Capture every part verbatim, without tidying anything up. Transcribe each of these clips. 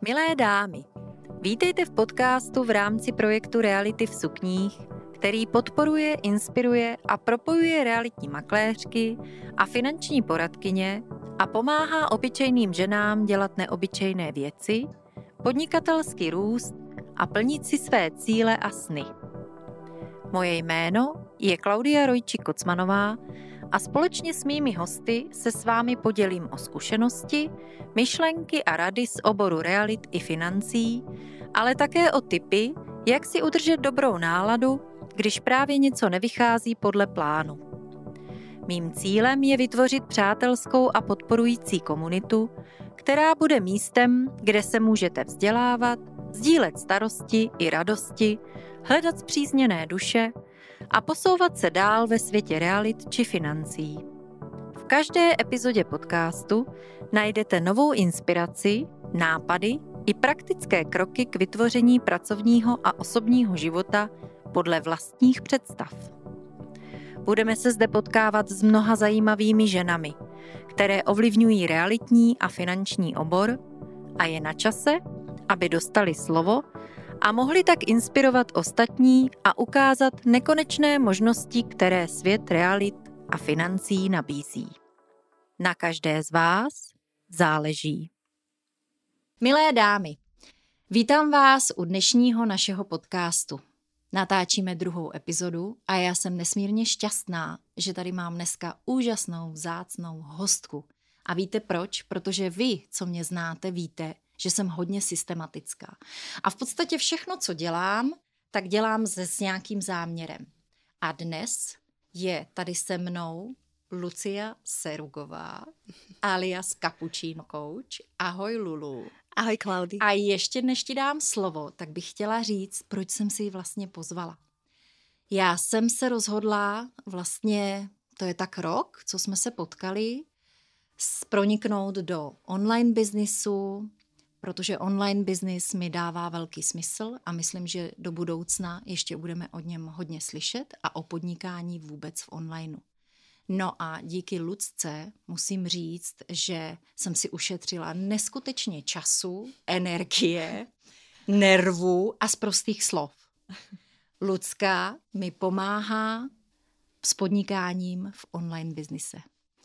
Milé dámy, vítejte v podcastu v rámci projektu Reality v sukních, který podporuje, inspiruje a propojuje realitní makléřky a finanční poradkyně a pomáhá obyčejným ženám dělat neobyčejné věci, podnikatelský růst a plnit si své cíle a sny. Moje jméno je Klaudia Rojčík-Kocmanová a společně s mými hosty se s vámi podělím o zkušenosti, myšlenky a rady z oboru realit i financí, ale také o tipy, jak si udržet dobrou náladu, když právě něco nevychází podle plánu. Mým cílem je vytvořit přátelskou a podporující komunitu, která bude místem, kde se můžete vzdělávat, sdílet starosti i radosti, hledat spřízněné duše a posouvat se dál ve světě realit či financí. V každé epizodě podcastu najdete novou inspiraci, nápady i praktické kroky k vytvoření pracovního a osobního života podle vlastních představ. Budeme se zde potkávat s mnoha zajímavými ženami, které ovlivňují realitní a finanční obor a je na čase, aby dostali slovo a mohli tak inspirovat ostatní a ukázat nekonečné možnosti, které svět realit a financí nabízí. Na každé z vás záleží. Milé dámy, vítám vás u dnešního našeho podcastu. Natáčíme druhou epizodu a já jsem nesmírně šťastná, že tady mám dneska úžasnou, vzácnou hostku. A víte proč? Protože vy, co mě znáte, víte, že jsem hodně systematická. A v podstatě všechno, co dělám, tak dělám se s nějakým záměrem. A dnes je tady se mnou Lucia Serugová, alias Cappuccino Coach. Ahoj, Lulu. Ahoj, Klaudi. A ještě než ti dám slovo, tak bych chtěla říct, proč jsem si ji vlastně pozvala. Já jsem se rozhodla vlastně, to je tak rok, co jsme se potkali, proniknout do online biznisu, protože online business mi dává velký smysl a myslím, že do budoucna ještě budeme o něm hodně slyšet a o podnikání vůbec v onlineu. No a díky Lucce musím říct, že jsem si ušetřila neskutečně času, energie, nervů a z prostých slov. Lucka mi pomáhá s podnikáním v online biznise.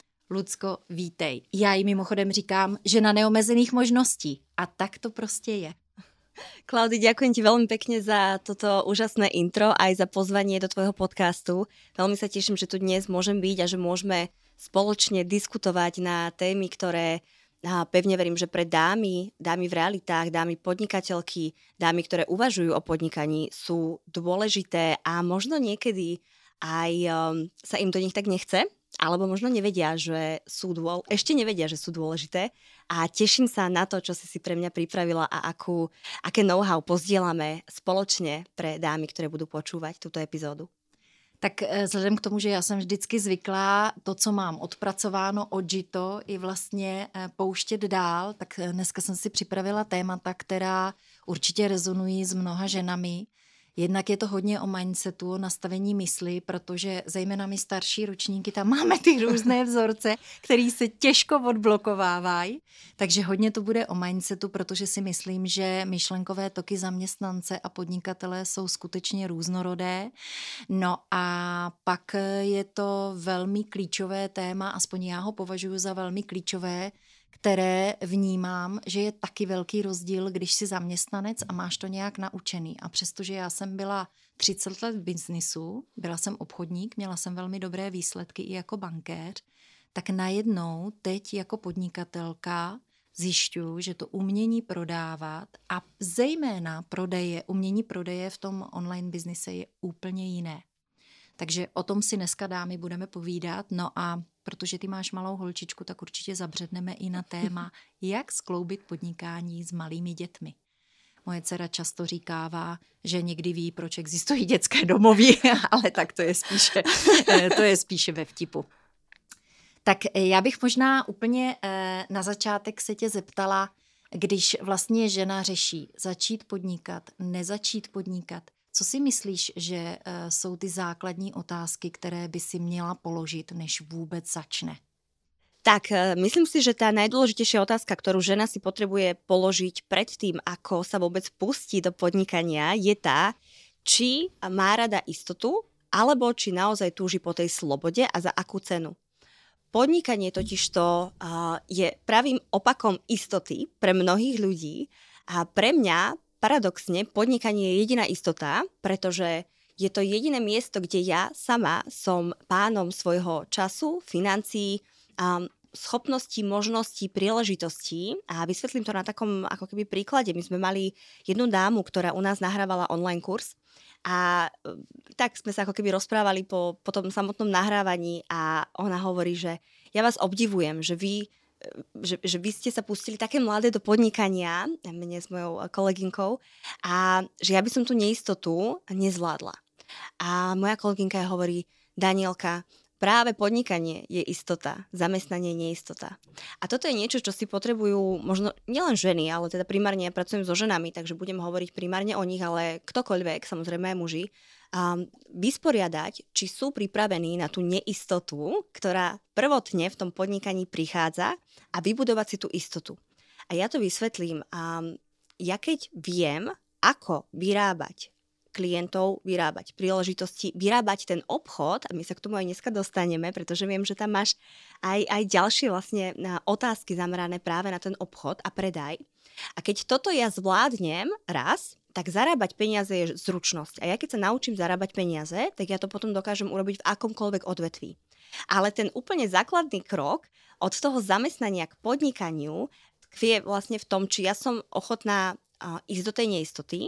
Lucko, vítej. Já jí mimochodem říkám, že na neomezených možností. A tak to prostě je. Klaudi, ďakujem ti veľmi pekne za toto úžasné intro aj za pozvanie do tvojho podcastu. Veľmi sa teším, že tu dnes môžem byť a že môžeme spoločne diskutovať na témy, ktoré pevne verím, že pre dámy, dámy v realitách, dámy podnikateľky, dámy, ktoré uvažujú o podnikaní, sú dôležité a možno niekedy aj um, sa im do nich tak nechce, alebo možno nevedia, že sú dôl... ešte nevedia, že sú dôležité a teším sa na to, čo si si pre mňa pripravila a akú, aké know-how pozdielame spoločne pre dámy, ktoré budú počúvať túto epizódu. Tak vzhledem k tomu, že já jsem vždycky zvyklá to, co mám odpracováno, odžito i vlastně pouštět dál, tak dneska jsem si připravila témata, která určitě rezonují s mnoha ženami. Jednak je to hodně o mindsetu, o nastavení mysli, protože zejména my starší ročníky tam máme ty různé vzorce, které se těžko odblokovávají. Takže hodně to bude o mindsetu, protože si myslím, že myšlenkové toky zaměstnance a podnikatelé jsou skutečně různorodé. No a pak je to velmi klíčové téma, aspoň já ho považuji za velmi klíčové, které vnímám, že je taky velký rozdíl, když jsi zaměstnanec a máš to nějak naučený. A přestože já jsem byla třicet let v biznisu, byla jsem obchodník, měla jsem velmi dobré výsledky i jako bankéř, tak najednou teď jako podnikatelka zjišťuju, že to umění prodávat a zejména prodeje, umění prodeje v tom online biznise je úplně jiné. Takže o tom si dneska, dámy, budeme povídat. No a protože ty máš malou holčičku, tak určitě zabředneme i na téma, jak skloubit podnikání s malými dětmi. Moje dcera často říkává, že někdy ví, proč existují dětské domovy, ale tak to je spíše, to je spíše ve vtipu. Tak já bych možná úplně na začátek se tě zeptala, když vlastně žena řeší začít podnikat, nezačít podnikat, co si myslíš, že uh, jsou ty základní otázky, které by si měla položit, než vůbec začne? Tak, myslím si, že tá najdôležitejšia otázka, ktorú žena si potrebuje položiť pred tým, ako sa vôbec pustí do podnikania, je tá, či má rada istotu, alebo či naozaj túži po tej slobode a za akú cenu. Podnikanie totižto uh, je pravým opakom istoty pre mnohých ľudí a pre mňa paradoxne podnikanie je jediná istota, pretože je to jediné miesto, kde ja sama som pánom svojho času, financií, um, schopností, možností, príležitostí a vysvetlím to na takom ako keby príklade. My sme mali jednu dámu, ktorá u nás nahrávala online kurz a tak sme sa ako keby rozprávali po, po tom samotnom nahrávaní a ona hovorí, že ja vás obdivujem, že vy Že, že vy ste sa pustili také mladé do podnikania, mne s mojou kolegynkou, a že ja by som tú neistotu nezvládla. A moja kolegynka hovorí, Danielka, práve podnikanie je istota, zamestnanie je neistota. A toto je niečo, čo si potrebujú možno nielen ženy, ale teda primárne ja pracujem so ženami, takže budem hovoriť primárne o nich, ale ktokoľvek, samozrejme aj muži, Um, vysporiadať, či sú pripravení na tú neistotu, ktorá prvotne v tom podnikaní prichádza a vybudovať si tú istotu. A ja to vysvetlím. Um, ja keď viem, ako vyrábať klientov, vyrábať príležitosti, vyrábať ten obchod, a my sa k tomu aj dneska dostaneme, pretože viem, že tam máš aj, aj ďalšie vlastne otázky zamerané práve na ten obchod a predaj. A keď toto ja zvládnem raz, tak zarábať peniaze je zručnosť. A ja keď sa naučím zarábať peniaze, tak ja to potom dokážem urobiť v akomkoľvek odvetví. Ale ten úplne základný krok od toho zamestnania k podnikaniu tkvie vlastne v tom, či ja som ochotná uh, ísť do tej neistoty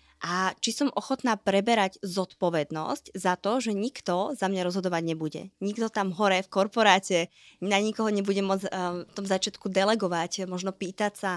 a či som ochotná preberať zodpovednosť za to, že nikto za mňa rozhodovať nebude. Nikto tam hore v korporáte na nikoho nebude môcť uh, v tom začiatku delegovať, možno pýtať sa,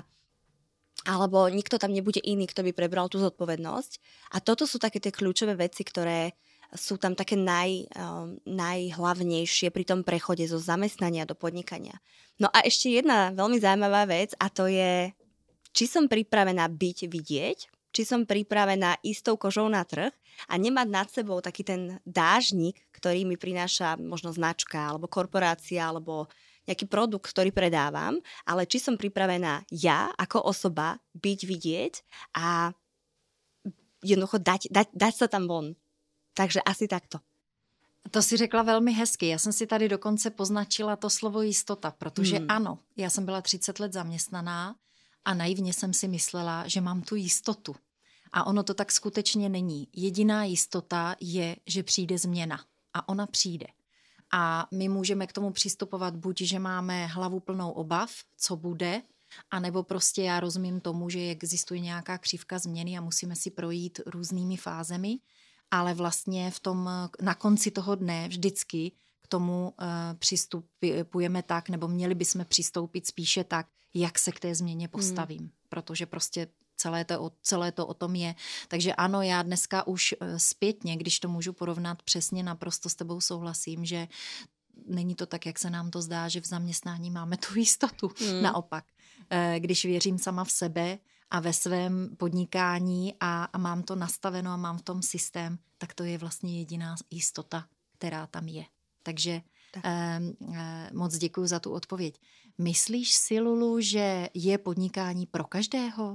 alebo nikto tam nebude iný, kto by prebral tú zodpovednosť. A toto sú také tie kľúčové veci, ktoré sú tam také naj, um, najhlavnejšie pri tom prechode zo zamestnania do podnikania. No a ešte jedna veľmi zaujímavá vec a to je, či som pripravená byť vidieť, či som pripravená istou kožou na trh a nemať nad sebou taký ten dážnik, ktorý mi prináša možno značka alebo korporácia alebo nejaký produkt, ktorý predávam, ale či som pripravená ja ako osoba byť vidieť a jednoducho dať, dať, dať sa tam von. Takže asi takto. To si řekla velmi hezky. Já jsem si tady dokonce poznačila to slovo jistota, protože hmm. ano, já jsem byla třicet let zaměstnaná a naivně jsem si myslela, že mám tu jistotu. A ono to tak skutečně není. Jediná jistota je, že přijde změna. A ona přijde. A my můžeme k tomu přistupovat buď, že máme hlavu plnou obav, co bude, anebo prostě já rozumím tomu, že existuje nějaká křivka změny a musíme si projít různými fázemi, ale vlastně v tom, na konci toho dne vždycky k tomu uh, přistupujeme tak, nebo měli bychom přistoupit spíše tak, jak se k té změně postavím, hmm. protože prostě Celé to, celé to o tom je. Takže ano, já dneska už zpětně, když to můžu porovnat přesně, naprosto s tebou souhlasím, že není to tak, jak se nám to zdá, že v zaměstnání máme tu jistotu. Hmm. Naopak, když věřím sama v sebe a ve svém podnikání a, a mám to nastaveno a mám v tom systém, tak to je vlastně jediná jistota, která tam je. Takže eh, eh, moc děkuju za tu odpověď. Myslíš si, Lulu, že je podnikání pro každého?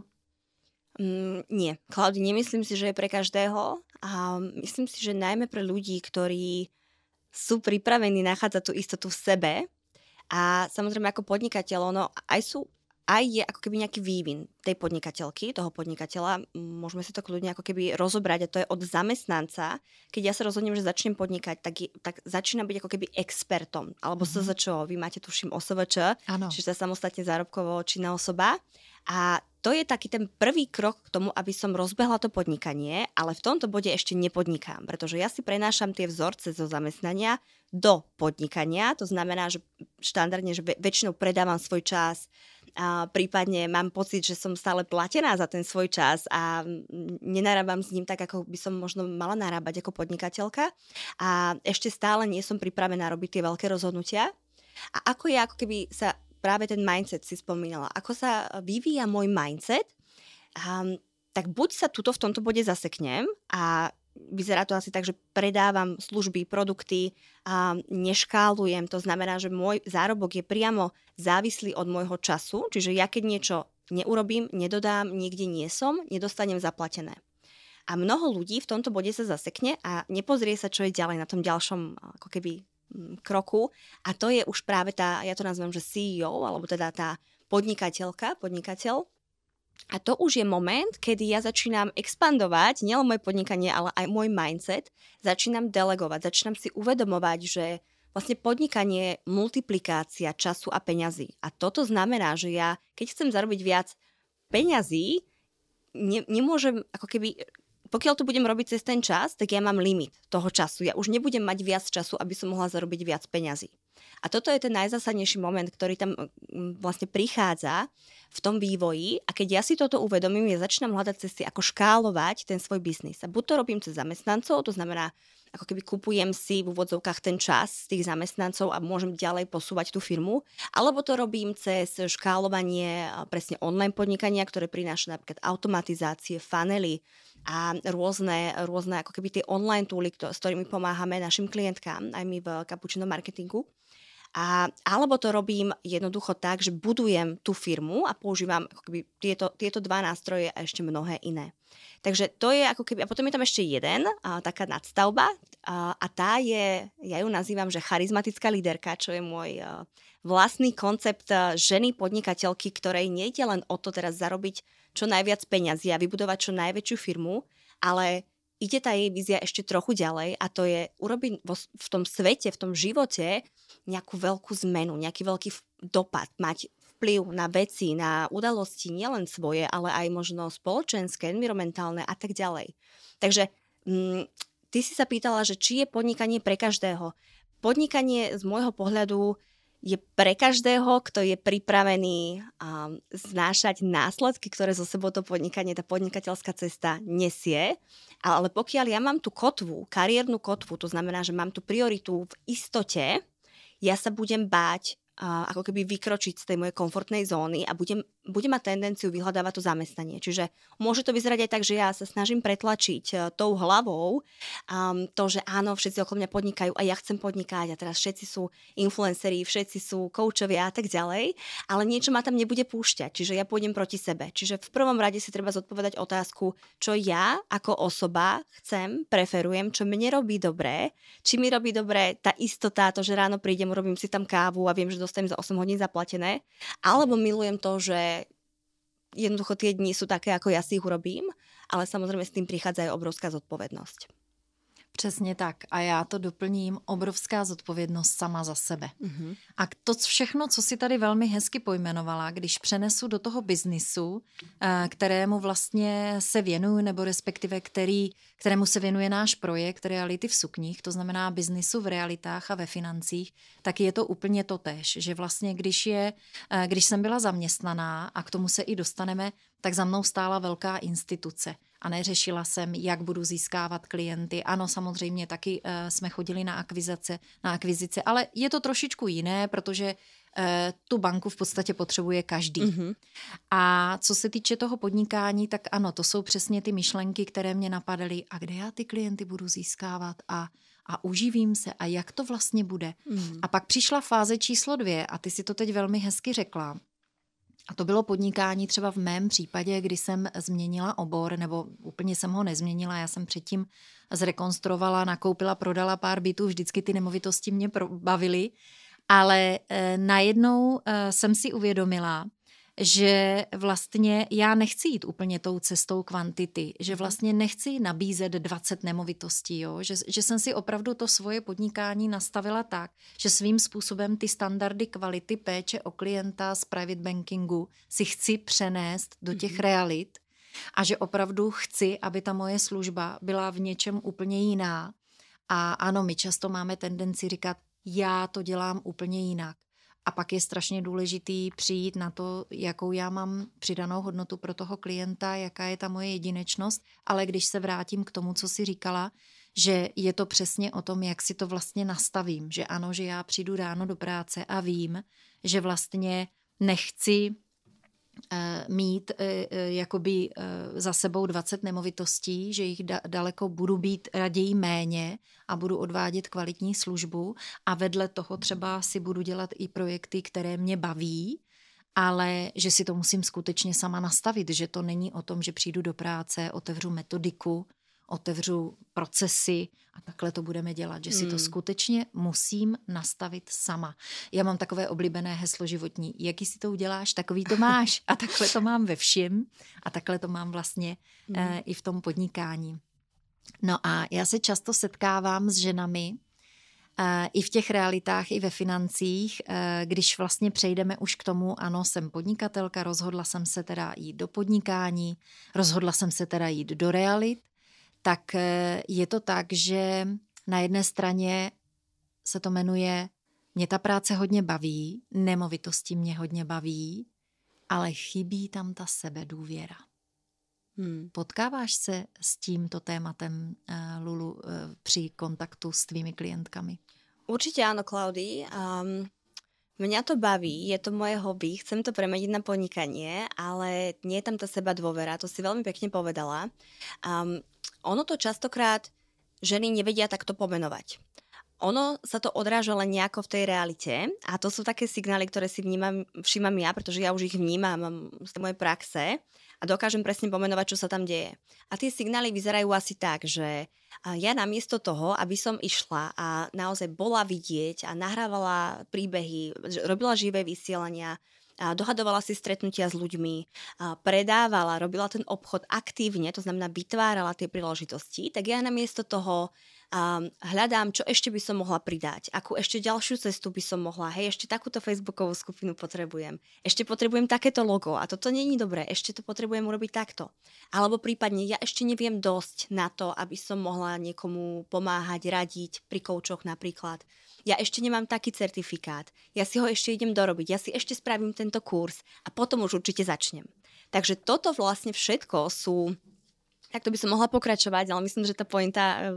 Mm, nie, Klaudi, nemyslím si, že je pre každého a myslím si, že najmä pre ľudí, ktorí sú pripravení nachádzať tú istotu v sebe a samozrejme ako podnikateľ, ono aj sú aj je ako keby nejaký vývin tej podnikateľky, toho podnikateľa. Môžeme si to kľudne ako keby rozobrať a to je od zamestnanca. Keď ja sa rozhodnem, že začnem podnikať, tak, je, tak začína byť ako keby expertom. Alebo mm-hmm. es zet čo, vy máte tuším ó es vé čé, čiže samostatne zárobkovo činná osoba. A to je taký ten prvý krok k tomu, aby som rozbehla to podnikanie, ale v tomto bode ešte nepodnikám, pretože ja si prenášam tie vzorce zo zamestnania do podnikania. To znamená, že štandardne, že väčšinou predávam svoj čas, a prípadne mám pocit, že som stále platená za ten svoj čas a nenarábam s ním tak, ako by som možno mala narábať ako podnikateľka. A ešte stále nie som pripravená robiť tie veľké rozhodnutia. A ako ja, ako keby sa práve ten mindset si spomínala, ako sa vyvíja môj mindset, um, tak buď sa tuto v tomto bode zaseknem a vyzerá to asi tak, že predávam služby, produkty a neškálujem. To znamená, že môj zárobok je priamo závislý od môjho času, čiže ja keď niečo neurobím, nedodám, nikde nie som, nedostanem zaplatené. A mnoho ľudí v tomto bode sa zasekne a nepozrie sa, čo je ďalej na tom ďalšom ako keby kroku. A to je už práve tá, ja to nazvem, že C E O, alebo teda tá podnikateľka, podnikateľ. A to už je moment, kedy ja začínam expandovať, nielen moje podnikanie, ale aj môj mindset, začínam delegovať, začínam si uvedomovať, že vlastne podnikanie je multiplikácia času a peňazí. A toto znamená, že ja, keď chcem zarobiť viac peňazí, ne, nemôžem, ako keby, pokiaľ to budem robiť cez ten čas, tak ja mám limit toho času. Ja už nebudem mať viac času, aby som mohla zarobiť viac peňazí. A toto je ten najzásadnejší moment, ktorý tam vlastne prichádza v tom vývoji a keď ja si toto uvedomím, ja začínam hľadať cesty, ako škálovať ten svoj biznis. A buď to robím cez zamestnancov, to znamená, ako keby kupujem si v úvodzovkách ten čas z tých zamestnancov a môžem ďalej posúvať tú firmu, alebo to robím cez škálovanie presne online podnikania, ktoré prináša napríklad automatizácie, funnely a rôzne, rôzne ako keby tie online tooly, s ktorými pomáhame našim klientkám, aj my v Cappuccino Marketingu. A, alebo to robím jednoducho tak, že budujem tú firmu a používam ako keby tieto, tieto dva nástroje a ešte mnohé iné. Takže to je ako keby, a potom je tam ešte jeden, a, taká nadstavba a, a tá je, ja ju nazývam, že charizmatická líderka, čo je môj a, vlastný koncept a, ženy podnikateľky, ktorej nejde len o to teraz zarobiť čo najviac peňazí a vybudovať čo najväčšiu firmu, ale ide tá jej vízia ešte trochu ďalej a to je urobiť vo, v tom svete, v tom živote nejakú veľkú zmenu, nejaký veľký dopad, mať vplyv na veci, na udalosti nielen svoje, ale aj možno spoločenské, environmentálne a tak ďalej. Takže mm, ty si sa pýtala, že či je podnikanie pre každého. Podnikanie z môjho pohľadu je pre každého, kto je pripravený um, znášať následky, ktoré zo sebou to podnikanie, tá podnikateľská cesta nesie. Ale pokiaľ ja mám tú kotvu, kariérnu kotvu, to znamená, že mám tú prioritu v istote, ja sa budem báť uh, ako keby vykročiť z tej mojej komfortnej zóny a budem, budem mať tendenciu vyhľadávať to zamestnanie. Čiže môže to vyzerať aj tak, že ja sa snažím pretlačiť uh, tou hlavou um, to, že áno, všetci okolo mňa podnikajú a ja chcem podnikať a teraz všetci sú influenceri, všetci sú koučovia a tak ďalej, ale niečo ma tam nebude púšťať, čiže ja pôjdem proti sebe. Čiže v prvom rade si treba zodpovedať otázku, čo ja ako osoba chcem, preferujem, čo mne robí dobré, či mi robí dobré tá istota, to, že ráno prídem, urobím si tam kávu a viem, že dostanem za osem hodín zaplatené, alebo milujem to, že jednoducho tie dni sú také, ako ja si ich urobím, ale samozrejme s tým prichádza aj obrovská zodpovednosť. Přesně tak. A já to doplním, obrovská zodpovědnost sama za sebe. Mm-hmm. A to všechno, co si tady velmi hezky pojmenovala, když přenesu do toho biznisu, kterému vlastně se věnuju, nebo respektive který, kterému se věnuje náš projekt Reality v sukních, to znamená biznisu v realitách a ve financích, tak je to úplně totéž, že vlastně když, je, když jsem byla zaměstnaná, a k tomu se i dostaneme, tak za mnou stála velká instituce. A neřešila jsem, jak budu získávat klienty. Ano, samozřejmě taky uh, jsme chodili na akvizice, na akvizice, ale je to trošičku jiné, protože uh, tu banku v podstatě potřebuje každý. Mm-hmm. A co se týče toho podnikání, tak ano, to jsou přesně ty myšlenky, které mě napadaly. A kde já ty klienty budu získávat a, a uživím se a jak to vlastně bude. Mm-hmm. A pak přišla fáze číslo dvě a ty si to teď velmi hezky řekla. A to bylo podnikání třeba v mém případě, kdy jsem změnila obor, nebo úplně jsem ho nezměnila, já jsem předtím zrekonstruovala, nakoupila, prodala pár bytů, vždycky ty nemovitosti mě bavily, ale e, najednou e, jsem si uvědomila, že vlastně já nechci jít úplně tou cestou kvantity, že vlastně nechci nabízet dvacet nemovitostí, jo? Že, že jsem si opravdu to svoje podnikání nastavila tak, že svým způsobem ty standardy kvality péče o klienta z private bankingu si chci přenést do těch mm-hmm. realit a že opravdu chci, aby ta moje služba byla v něčem úplně jiná. A ano, my často máme tendenci říkat, já to dělám úplně jinak. A pak je strašně důležitý přijít na to, jakou já mám přidanou hodnotu pro toho klienta, jaká je ta moje jedinečnost, ale když se vrátím k tomu, co jsi říkala, že je to přesně o tom, jak si to vlastně nastavím, že ano, že já přijdu ráno do práce a vím, že vlastně nechci mít jakoby za sebou dvacet nemovitostí, že jich da, daleko budu být raději méně a budu odvádět kvalitní službu a vedle toho třeba si budu dělat i projekty, které mě baví, ale že si to musím skutečně sama nastavit, že to není o tom, že přijdu do práce, otevřu metodiku, otevřu procesy a takhle to budeme dělat, že si to Hmm. skutečně musím nastavit sama. Já mám takové oblíbené heslo životní, jaký si to uděláš, takový to máš a takhle to mám ve všem a takhle to mám vlastně Hmm. eh, i v tom podnikání. No a já se často setkávám s ženami eh, i v těch realitách, i ve financích, eh, když vlastně přejdeme už k tomu, ano, jsem podnikatelka, rozhodla jsem se teda jít do podnikání, rozhodla jsem se teda jít do realit, tak je to tak, že na jedné straně se to jmenuje mě ta práce hodně baví, nemovitosti mě hodně baví, ale chybí tam ta sebedůvěra. Hmm. Potkáváš se s tímto tématem, Lulu, při kontaktu s tvými klientkami? Určite áno, Klaudy. Um, mňa to baví, je to moje hobby, chcem to premeniť na podnikanie, ale nie je tam tá seba dôvera, to si veľmi pekne povedala. Um, ono to častokrát ženy nevedia takto pomenovať. Ono sa to odráža len nejako v tej realite a to sú také signály, ktoré si vnímam, všímam ja, pretože ja už ich vnímam, mám z mojej praxe a dokážem presne pomenovať, čo sa tam deje. A tie signály vyzerajú asi tak, že ja namiesto toho, aby som išla a naozaj bola vidieť a nahrávala príbehy, robila živé vysielania, a dohadovala si stretnutia s ľuďmi, a predávala, robila ten obchod aktívne, to znamená vytvárala tie príležitosti, tak ja namiesto toho a hľadám, čo ešte by som mohla pridať, akú ešte ďalšiu cestu by som mohla, hej, ešte takúto facebookovú skupinu potrebujem, ešte potrebujem takéto logo a toto nie je dobré, ešte to potrebujem urobiť takto. Alebo prípadne ja ešte neviem dosť na to, aby som mohla niekomu pomáhať, radiť pri koučoch napríklad. Ja ešte nemám taký certifikát, ja si ho ešte idem dorobiť, ja si ešte spravím tento kurz a potom už určite začnem. Takže toto vlastne všetko sú, takto by som mohla pokračovať, ale myslím, že tá pointa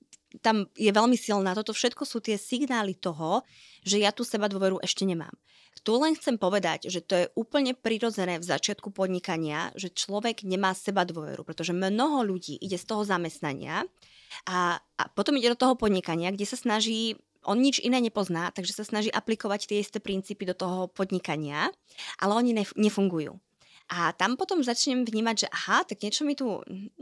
tam je veľmi silná. Toto všetko sú tie signály toho, že ja tu seba dôveru ešte nemám. Tu len chcem povedať, že to je úplne prirodzené v začiatku podnikania, že človek nemá seba dôveru, pretože mnoho ľudí ide z toho zamestnania a, a potom ide do toho podnikania, kde sa snaží, on nič iné nepozná, takže sa snaží aplikovať tie isté princípy do toho podnikania, ale oni nef- nefungujú. A tam potom začnem vnímať, že aha, tak niečo mi tu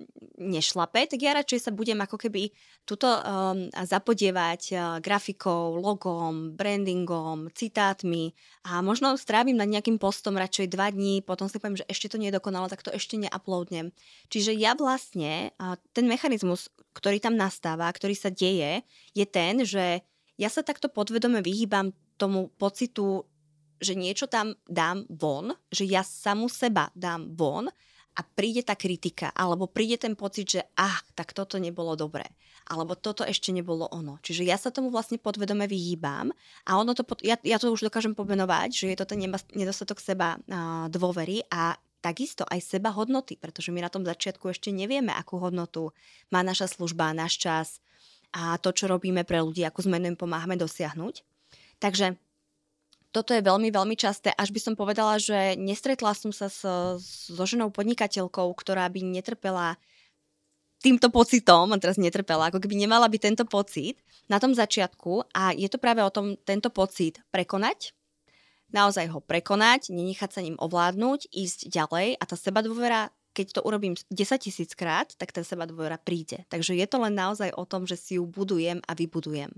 nešlape, tak ja radšej sa budem ako keby tuto um, zapodievať uh, grafikou, logom, brandingom, citátmi a možno strávim nad nejakým postom radšej dva dní, potom si poviem, že ešte to nie je dokonalo, tak to ešte neuploadnem. Čiže ja vlastne, uh, ten mechanizmus, ktorý tam nastáva, ktorý sa deje, je ten, že ja sa takto podvedome vyhýbam tomu pocitu, že niečo tam dám von, že ja samu seba dám von a príde tá kritika, alebo príde ten pocit, že ah, tak toto nebolo dobré, alebo toto ešte nebolo ono. Čiže ja sa tomu vlastne podvedome vyhýbam a ono to, ja, ja to už dokážem pomenovať, že je to ten nedostatok seba a, dôvery a takisto aj seba hodnoty, pretože my na tom začiatku ešte nevieme, akú hodnotu má naša služba, náš čas a to, čo robíme pre ľudí, akú zmenu im pomáhame dosiahnuť. Takže toto je veľmi, veľmi časté, až by som povedala, že nestretla som sa so, so ženou podnikateľkou, ktorá by netrpela týmto pocitom, a teraz netrpela, ako keby nemala by tento pocit na tom začiatku a je to práve o tom tento pocit prekonať, naozaj ho prekonať, nenechať sa ním ovládnuť, ísť ďalej a tá sebadôvera, keď to urobím desaťtisíc krát, tak tá sebadôvera príde. Takže je to len naozaj o tom, že si ju budujem a vybudujem.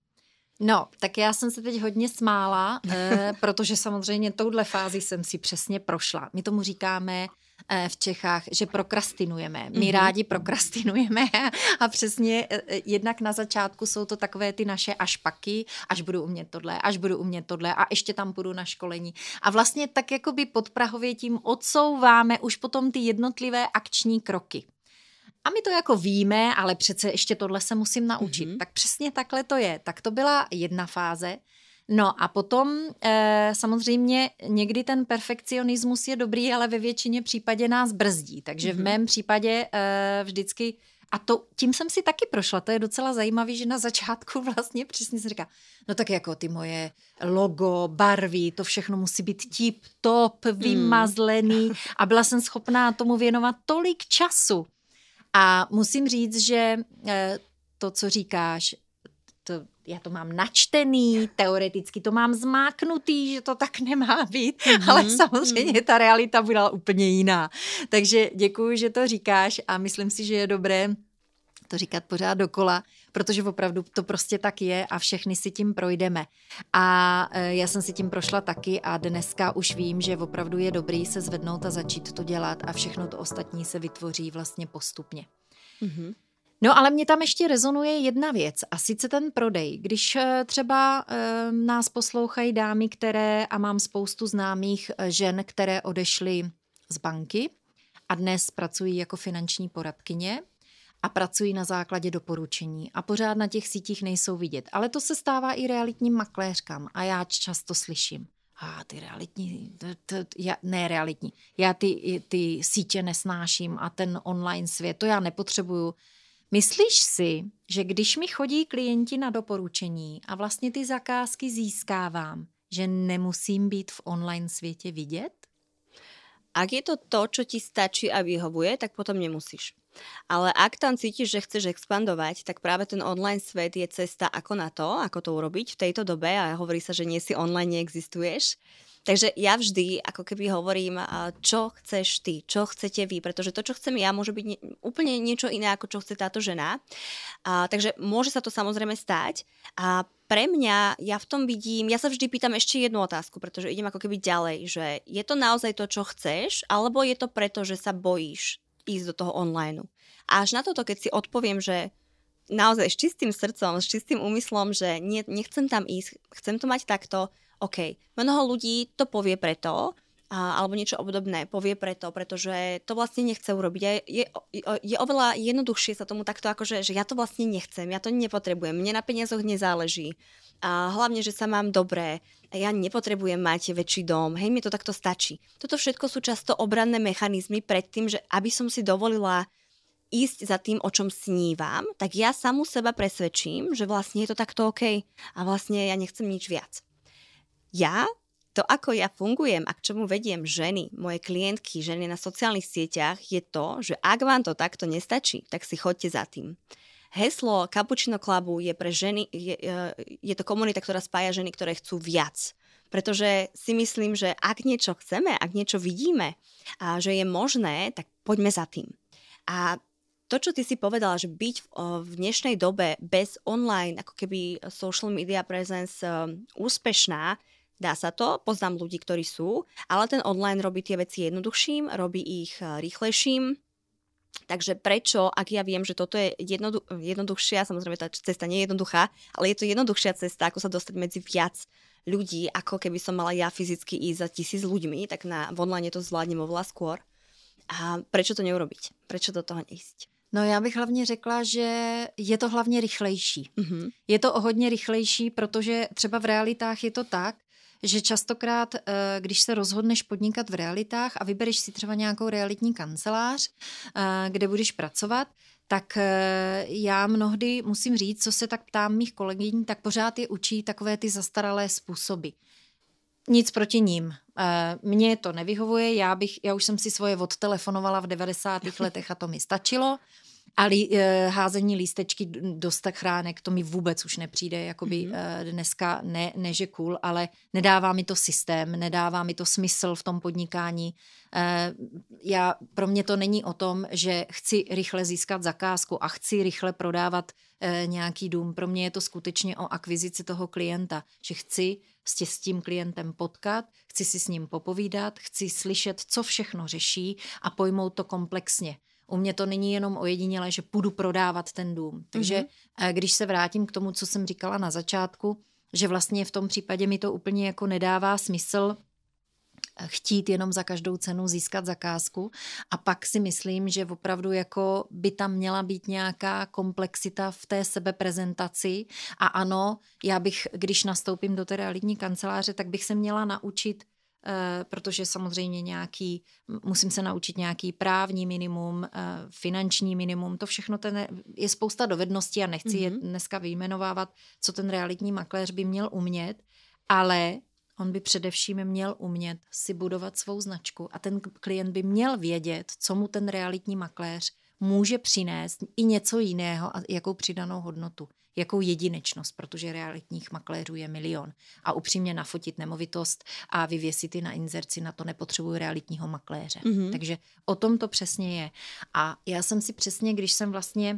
No, tak já jsem se teď hodně smála, eh, protože samozřejmě touhle fázi jsem si přesně prošla. My tomu říkáme eh, v Čechách, že prokrastinujeme. My mm-hmm. rádi prokrastinujeme a přesně eh, jednak na začátku jsou to takové ty naše ašpaky, až budu umět tohle, až budu umět tohle a ještě tam půjdu na školení. A vlastně tak jakoby podprahově tím odsouváme už potom ty jednotlivé akční kroky. A my to jako víme, ale přece ještě tohle se musím naučit. Mm-hmm. Tak přesně takhle to je. Tak to byla jedna fáze. No a potom e, samozřejmě někdy ten perfekcionismus je dobrý, ale ve většině případě nás brzdí. Takže mm-hmm. v mém případě e, vždycky A to, tím jsem si taky prošla, to je docela zajímavé, že na začátku vlastně přesně se říká, no tak jako ty moje logo, barvy, to všechno musí být tip top, vymazlený a byla jsem schopná tomu věnovat tolik času. A musím říct, že to, co říkáš, to, já to mám načtený, teoreticky to mám zmáknutý, že to tak nemá být, mm-hmm. ale samozřejmě ta realita byla úplně jiná. Takže děkuji, že to říkáš a myslím si, že je dobré to říkat pořád dokola, protože opravdu to prostě tak je a všechny si tím projdeme. A já jsem si tím prošla taky a dneska už vím, že opravdu je dobrý se zvednout a začít to dělat a všechno to ostatní se vytvoří vlastně postupně. Mm-hmm. No ale mě tam ještě rezonuje jedna věc a sice ten prodej. Když třeba e, nás poslouchají dámy, které, a mám spoustu známých žen, které odešly z banky a dnes pracují jako finanční poradkyně a pracují na základě doporučení a pořád na těch sítích nejsou vidět. Ale to se stává i realitním makléřkám a já často slyším, a ah, ty realitní, to, to, já, ne realitní, já ty, ty sítě nesnáším a ten online svět, to já nepotřebuju. Myslíš si, že když mi chodí klienti na doporučení a vlastně ty zakázky získávám, že nemusím být v online světě vidět? Ak je to to, čo ti stačí a vyhovuje, tak potom nemusíš. Ale ak tam cítiš, že chceš expandovať, tak práve ten online svet je cesta ako na to, ako to urobiť v tejto dobe a hovorí sa, že nie si online, neexistuješ. Takže ja vždy ako keby hovorím, čo chceš ty, čo chcete vy, pretože to, čo chcem ja, môže byť nie, úplne niečo iné, ako čo chce táto žena. A, takže môže sa to samozrejme stať. A pre mňa, ja v tom vidím, ja sa vždy pýtam ešte jednu otázku, pretože idem ako keby ďalej, že je to naozaj to, čo chceš, alebo je to preto, že sa bojíš ísť do toho online. A až na toto, keď si odpoviem, že naozaj s čistým srdcom, s čistým úmyslom, že nie, nechcem tam ísť, chcem to mať takto, OK. Mnoho ľudí to povie preto, a, alebo niečo obdobné povie preto, pretože to vlastne nechce urobiť. Je, je, je oveľa jednoduchšie sa tomu takto akože, že ja to vlastne nechcem, ja to nepotrebujem, mne na peniazoch nezáleží. A hlavne, že sa mám dobré, ja nepotrebujem mať väčší dom, hej, mi to takto stačí. Toto všetko sú často obranné mechanizmy pred tým, že aby som si dovolila ísť za tým, o čom snívam, tak ja samu seba presvedčím, že vlastne je to takto OK a vlastne ja nechcem nič viac. Ja, to ako ja fungujem a k čomu vediem ženy, moje klientky, ženy na sociálnych sieťach, je to, že ak vám to takto nestačí, tak si choďte za tým. Heslo Cappuccino Clubu je pre ženy, je, je to komunita, ktorá spája ženy, ktoré chcú viac. Pretože si myslím, že ak niečo chceme, ak niečo vidíme a že je možné, tak poďme za tým. A to, čo ty si povedala, že byť v, v dnešnej dobe bez online, ako keby social media presence úspešná, dá sa to, poznám ľudí, ktorí sú, ale ten online robí tie veci jednoduchším, robí ich rýchlejším. Takže prečo, ak ja viem, že toto je jednodu- jednoduchšia, samozrejme tá cesta nie je jednoduchá, ale je to jednoduchšia cesta, ako sa dostať medzi viac ľudí, ako keby som mala ja fyzicky ísť za tisíc ľuďmi, tak na v online to zvládnem oveľa skôr. A prečo to neurobiť? Prečo do toho neísť? No já bych hlavně řekla, že je to hlavně rychlejší. Mm-hmm. Je to o hodně rychlejší, protože třeba v realitách je to tak, že častokrát, když se rozhodneš podnikat v realitách a vybereš si třeba nějakou realitní kancelář, kde budeš pracovat, tak já mnohdy musím říct, co se tak ptám mých kolegyň, tak pořád je učí takové ty zastaralé způsoby. Nic proti ním. Mně to nevyhovuje, já, bych, já už jsem si svoje odtelefonovala v devadesátých letech a to mi stačilo. A lí, házení lístečky do schránek, to mi vůbec už nepřijde, jakoby mm-hmm. dneska ne, ne že cool, ale nedává mi to systém, nedává mi to smysl v tom podnikání. Já, pro mě to není o tom, že chci rychle získat zakázku a chci rychle prodávat nějaký dům. Pro mě je to skutečně o akvizici toho klienta, že chci se s tím klientem potkat, chci si s ním popovídat, chci slyšet, co všechno řeší a pojmout to komplexně. U mě to není jenom ojedinělé, že půjdu prodávat ten dům. Takže mm-hmm. když se vrátím k tomu, co jsem říkala na začátku, že vlastně v tom případě mi to úplně jako nedává smysl chtít jenom za každou cenu získat zakázku a pak si myslím, že opravdu jako by tam měla být nějaká komplexita v té sebeprezentaci a ano, já bych, když nastoupím do té realitní kanceláře, tak bych se měla naučit protože samozřejmě nějaký, musím se naučit nějaký právní minimum, finanční minimum, to všechno ten, je spousta dovedností a nechci mm-hmm. je dneska vyjmenovávat, co ten realitní makléř by měl umět, ale on by především měl umět si budovat svou značku a ten klient by měl vědět, co mu ten realitní makléř může přinést i něco jiného a jakou přidanou hodnotu, jakou jedinečnost, protože realitních makléřů je milion. A upřímně nafotit nemovitost a vyvěsit ji na inzerci, na to nepotřebuji realitního makléře. Mm-hmm. Takže o tom to přesně je. A já jsem si přesně, když jsem vlastně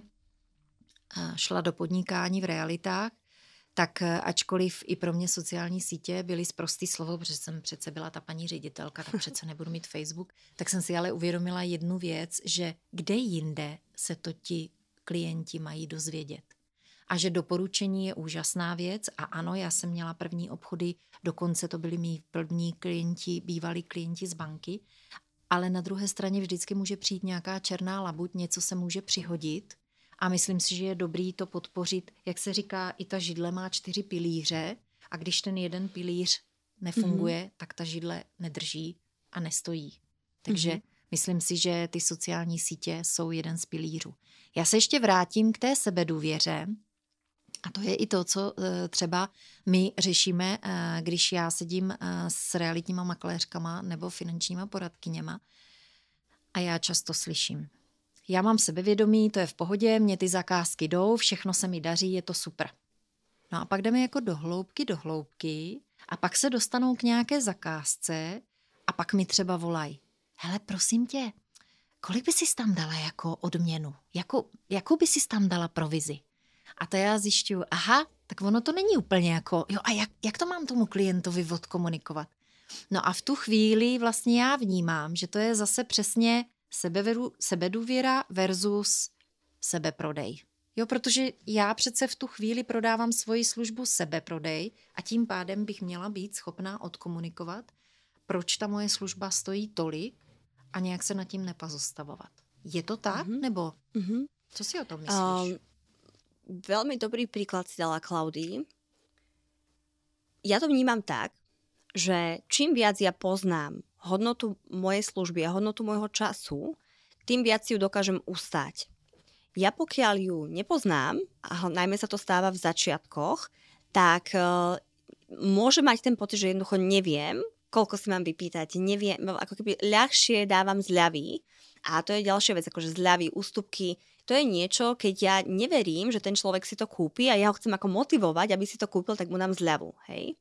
šla do podnikání v realitách, tak ačkoliv i pro mě sociální sítě byly sprostý slovo, protože jsem přece byla ta paní ředitelka, tak přece nebudu mít Facebook, tak jsem si ale uvědomila jednu věc, že kde jinde se to ti klienti mají dozvědět. A že doporučení je úžasná věc a ano, já jsem měla první obchody, dokonce to byli mý první klienti, bývalí klienti z banky, ale na druhé straně vždycky může přijít nějaká černá labuť, něco se může přihodit. A myslím si, že je dobrý to podpořit, jak se říká, i ta židle má čtyři pilíře a když ten jeden pilíř nefunguje, mm-hmm. tak ta židle nedrží a nestojí. Takže mm-hmm. myslím si, že ty sociální sítě jsou jeden z pilířů. Já se ještě vrátím k té sebedůvěře a to je i to, co třeba my řešíme, když já sedím s realitníma makléřkama nebo finančníma poradkyněma a já často slyším. Já mám sebevědomí, to je v pohodě, mě ty zakázky jdou, všechno se mi daří, je to super. No a pak jdeme jako do hloubky, do hloubky a pak se dostanou k nějaké zakázce a pak mi třeba volají. Hele, prosím tě, kolik by si tam dala jako odměnu? Jakou, jakou by si tam dala provizi? A to já zjišťuju, aha, tak ono to není úplně jako, jo a jak, jak to mám tomu klientovi odkomunikovat? No a v tu chvíli vlastně já vnímám, že to je zase přesně Sebeveru, sebedůvěra versus sebeprodej. Jo, protože já přece v tu chvíli prodávám svoji službu sebeprodej a tím pádem bych měla být schopná odkomunikovat, proč ta moje služba stojí tolik a nějak se nad tím nepozastavovat. Je to tak? Mm-hmm. Nebo mm-hmm. co si o tom myslíš? Um, veľmi dobrý príklad si dala, Klaudii. Ja to vnímam tak, že čím viac ja poznám hodnotu mojej služby a hodnotu môjho času, tým viac si ju dokážem ustať. Ja pokiaľ ju nepoznám, a najmä sa to stáva v začiatkoch, tak uh, môžem mať ten pocit, že jednoducho neviem, koľko si mám vypýtať, neviem, ako keby ľahšie dávam zľavy. A to je ďalšia vec, akože zľavy, ústupky. To je niečo, keď ja neverím, že ten človek si to kúpi a ja ho chcem ako motivovať, aby si to kúpil, tak mu dám zľavu. Hej?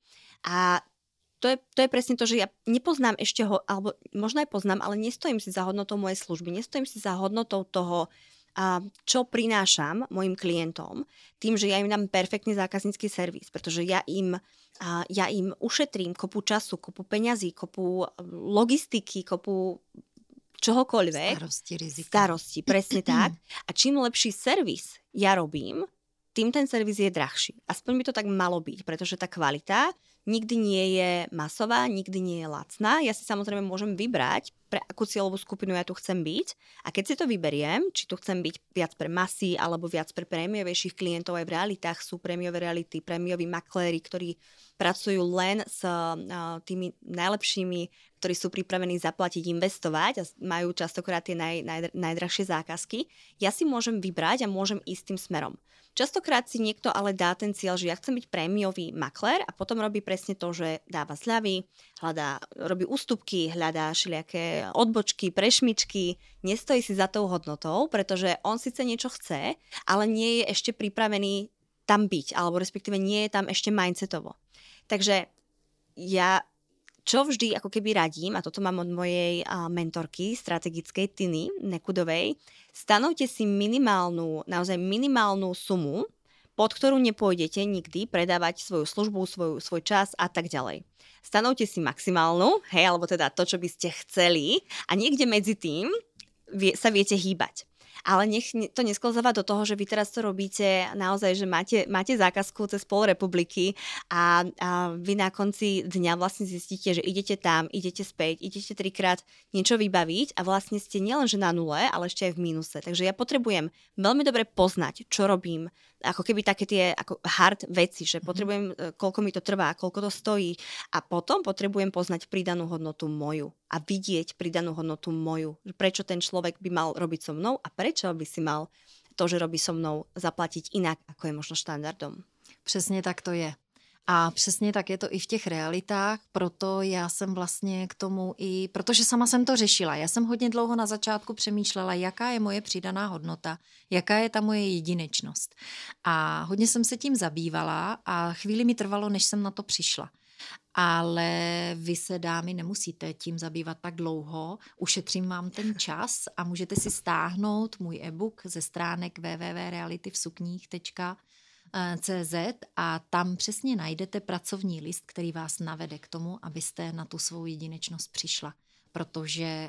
A To je, to je presne to, že ja nepoznám ešte ho, alebo možno aj poznám, ale nestojím si za hodnotou mojej služby, nestojím si za hodnotou toho, a čo prinášam mojim klientom, tým, že ja im dám perfektný zákaznícky servis, pretože ja im, a ja im ušetrím kopu času, kopu peňazí, kopu logistiky, kopu čohokoľvek. Starosti, rizika. Starosti, presne tak. A čím lepší servis ja robím, tým ten servis je drahší. Aspoň by to tak malo byť, pretože tá kvalita nikdy nie je masová, nikdy nie je lacná. Ja si samozrejme môžem vybrať, pre akú cieľovú skupinu ja tu chcem byť. A keď si to vyberiem, či tu chcem byť viac pre masy alebo viac pre prémiovejších klientov, aj v realitách sú prémiové reality, prémioví makléri, ktorí pracujú len s uh, tými najlepšími, ktorí sú pripravení zaplatiť, investovať a majú častokrát tie naj, naj, najdrahšie zákazky. Ja si môžem vybrať a môžem ísť tým smerom. Častokrát si niekto ale dá ten cieľ, že ja chcem byť prémiový maklér a potom robí presne to, že dáva zľavy, hľadá, robí ústupky, hľadá všelijaké odbočky, prešmičky, nestojí si za tou hodnotou, pretože on síce niečo chce, ale nie je ešte pripravený tam byť, alebo respektíve nie je tam ešte mindsetovo. Takže ja čo vždy ako keby radím, a toto mám od mojej uh, mentorky strategickej Tiny Nekudovej, stanovte si minimálnu, naozaj minimálnu sumu, pod ktorú nepôjdete nikdy predávať svoju službu, svoju, svoj čas a tak ďalej. Stanovte si maximálnu, hej, alebo teda to, čo by ste chceli a niekde medzi tým vie, sa viete hýbať. Ale nech to nesklzáva do toho, že vy teraz to robíte naozaj, že máte, máte zákazku cez pol republiky a, a vy na konci dňa vlastne zistíte, že idete tam, idete späť, idete trikrát niečo vybaviť a vlastne ste nielenže na nule, ale ešte aj v mínuse. Takže ja potrebujem veľmi dobre poznať, čo robím, ako keby také tie ako hard veci, že potrebujem, koľko mi to trvá, koľko to stojí a potom potrebujem poznať pridanú hodnotu moju a vidieť pridanú hodnotu moju. Prečo ten človek by mal robiť so mnou a prečo by si mal to, že robí so mnou, zaplatiť inak, ako je možno štandardom. Přesně tak to je. A přesně tak je to i v těch realitách, proto já jsem vlastně k tomu i, protože sama jsem to řešila, já jsem hodně dlouho na začátku přemýšlela, jaká je moje přidaná hodnota, jaká je ta moje jedinečnost. A hodně jsem se tím zabývala a chvíli mi trvalo, než jsem na to přišla. Ale vy se, dámy, nemusíte tím zabývat tak dlouho, ušetřím vám ten čas a můžete si stáhnout můj e-book ze stránek w w w tečka reality v sukních tečka cé zet a tam přesně najdete pracovní list, který vás navede k tomu, abyste na tu svou jedinečnost přišla. Protože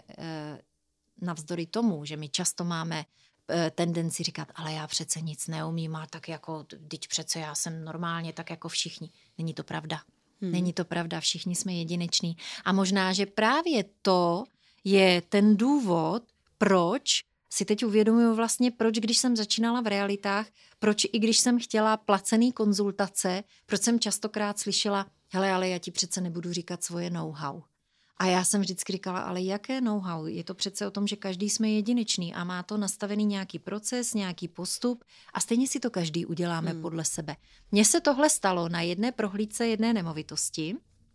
navzdory tomu, že my často máme tendenci říkat, ale já přece nic neumím a tak jako, teď přece já jsem normálně tak jako všichni. Není to pravda. Hmm. Není to pravda, všichni jsme jedineční. A možná, že právě to je ten důvod, proč si teď uvědomuju vlastně, proč když jsem začínala v realitách, proč i když jsem chtěla placený konzultace, proč jsem častokrát slyšela, hele, ale já ti přece nebudu říkat svoje know-how. A já jsem vždycky říkala, ale jaké know-how? Je to přece o tom, že každý jsme jedinečný a má to nastavený nějaký proces, nějaký postup a stejně si to každý uděláme hmm. podle sebe. Mně se tohle stalo na jedné prohlídce jedné nemovitosti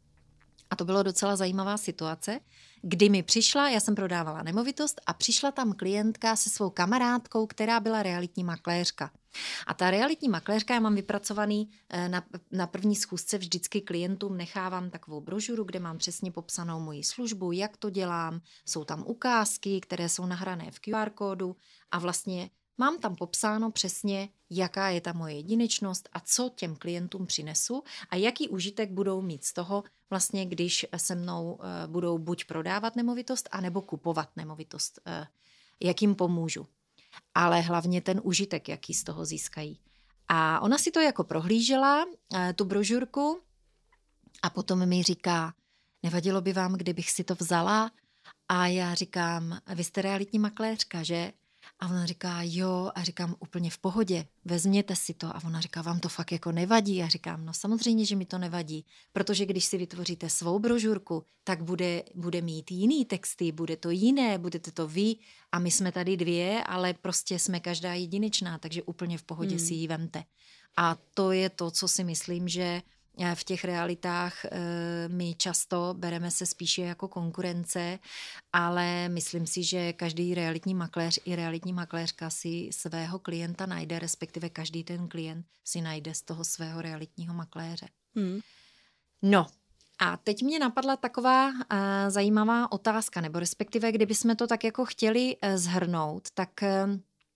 a to bylo docela zajímavá situace, kdy mi přišla, já jsem prodávala nemovitost a přišla tam klientka se svou kamarádkou, která byla realitní makléřka. A ta realitní makléřka, já mám vypracovaný na, na první schůzce vždycky klientům nechávám takovou brožuru, kde mám přesně popsanou moji službu, jak to dělám, jsou tam ukázky, které jsou nahrané v Q R kódu a vlastně mám tam popsáno přesně, jaká je ta moje jedinečnost a co těm klientům přinesu a jaký užitek budou mít z toho, vlastně když se mnou budou buď prodávat nemovitost, anebo kupovat nemovitost, jak jim pomůžu. Ale hlavně ten užitek, jaký z toho získají. A ona si to jako prohlížela, tu brožurku, a potom mi říká, nevadilo by vám, kdybych si to vzala? A já říkám, vy jste realitní makléřka, že? A ona říká, jo, a říkám, úplně v pohodě, vezměte si to. A ona říká, vám to fakt jako nevadí? A říkám, no samozřejmě, že mi to nevadí, protože když si vytvoříte svou brožurku, tak bude, bude mít jiný texty, bude to jiné, budete to vy a my jsme tady dvě, ale prostě jsme každá jedinečná, takže úplně v pohodě hmm. si ji vemte. A to je to, co si myslím, že v těch realitách my často bereme se spíše jako konkurence, ale myslím si, že každý realitní makléř i realitní makléřka si svého klienta najde, respektive každý ten klient si najde z toho svého realitního makléře. Hmm. No a teď mě napadla taková uh, zajímavá otázka, nebo respektive kdybychom to tak jako chtěli uh, zhrnout, tak uh,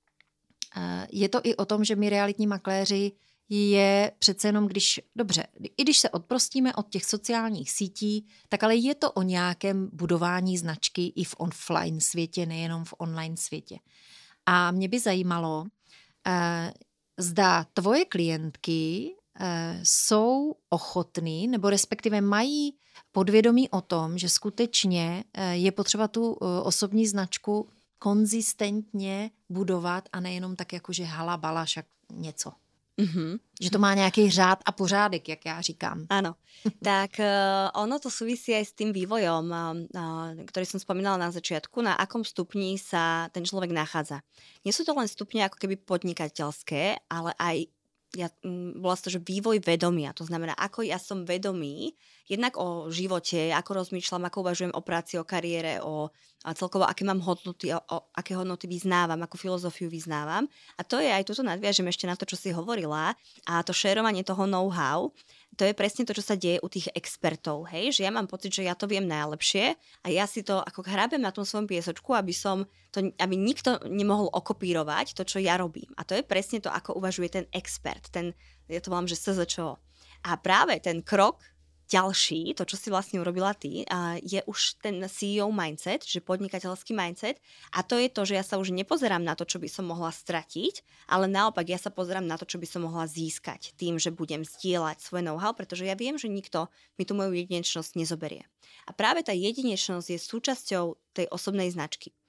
je to i o tom, že my realitní makléři je přece jenom, když, dobře, i když se odprostíme od těch sociálních sítí, tak ale je to o nějakém budování značky i v offline světě, nejenom v online světě. A mě by zajímalo, eh, zda tvoje klientky eh, jsou ochotný, nebo respektive mají podvědomí o tom, že skutečně eh, je potřeba tu eh, osobní značku konzistentně budovat a nejenom tak jako, že hala, bala, však něco. Mm-hmm. Že to má nějaký řád a pořádek, jak já říkám. Áno. Tak uh, ono to súvisí aj s tým vývojom, uh, uh, ktorý som spomínala na začiatku, na akom stupni sa ten človek nachádza. Nie sú to len stupne ako keby podnikateľské, ale aj ja, um, bola to, že vývoj vedomia. To znamená, ako ja som vedomý jednak o živote, ako rozmýšľam, ako uvažujem o práci, o kariére, o a celkovo, aké mám hodnoty, o, o aké hodnoty vyznávam, akú filozofiu vyznávam. A to je aj, toto nadviažem ešte na to, čo si hovorila, a to šerovanie toho know-how, to je presne to, čo sa deje u tých expertov, hej? Že ja mám pocit, že ja to viem najlepšie a ja si to ako hrábem na tom svojom piesočku, aby som to, aby nikto nemohol okopírovať to, čo ja robím. A to je presne to, ako uvažuje ten expert, ten, ja to volám, že es zet čo. A práve ten krok ďalší, to, čo si vlastne urobila ty, je už ten sí í ó mindset, že podnikateľský mindset, a to je to, že ja sa už nepozerám na to, čo by som mohla stratiť, ale naopak ja sa pozerám na to, čo by som mohla získať tým, že budem zdieľať svoje know-how, pretože ja viem, že nikto mi tú moju jedinečnosť nezoberie. A práve tá jedinečnosť je súčasťou tej osobnej značky.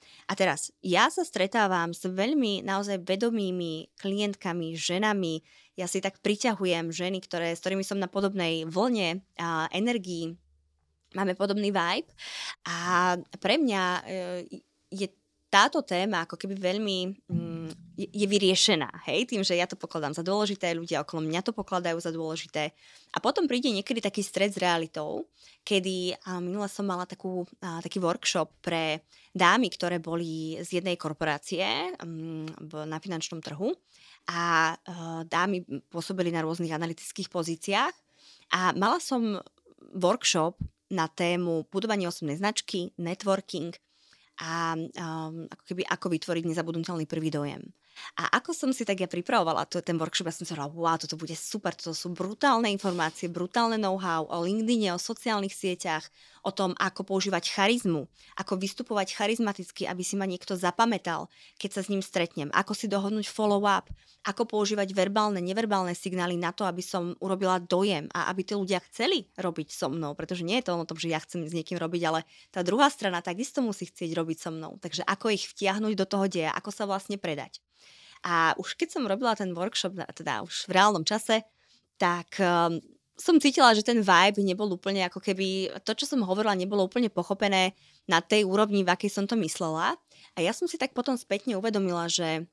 A teraz, ja sa stretávam s veľmi naozaj vedomými klientkami, ženami. Ja si tak priťahujem ženy, ktoré, s ktorými som na podobnej vlne a energii, máme podobný vibe. A pre mňa e, je táto téma ako keby veľmi mm, je, je vyriešená, hej, tým, že ja to pokladám za dôležité, ľudia okolo mňa to pokladajú za dôležité. A potom príde niekedy taký stret s realitou, kedy a minule som mala takú, a, taký workshop pre dámy, ktoré boli z jednej korporácie um, v, na finančnom trhu a uh, dámy pôsobili na rôznych analytických pozíciách a mala som workshop na tému budovanie osobnej značky, networking a um, ako keby ako vytvoriť nezabudnutelný prvý dojem. A ako som si tak ja pripravovala to, ten workshop, ja som si hovorila, wow, toto bude super, toto sú brutálne informácie, brutálne know-how o LinkedIne, o sociálnych sieťach, o tom, ako používať charizmu, ako vystupovať charizmaticky, aby si ma niekto zapamätal, keď sa s ním stretnem, ako si dohodnúť follow-up, ako používať verbálne, neverbálne signály na to, aby som urobila dojem a aby tí ľudia chceli robiť so mnou, pretože nie je to o tom, že ja chcem s niekým robiť, ale tá druhá strana takisto musí chcieť robiť so mnou. Takže ako ich vtiahnuť do toho deja, ako sa vlastne predať. A už keď som robila ten workshop, teda už v reálnom čase, tak um, som cítila, že ten vibe nebol úplne ako keby, to, čo som hovorila, nebolo úplne pochopené na tej úrovni, v akej som to myslela. A ja som si tak potom spätne uvedomila, že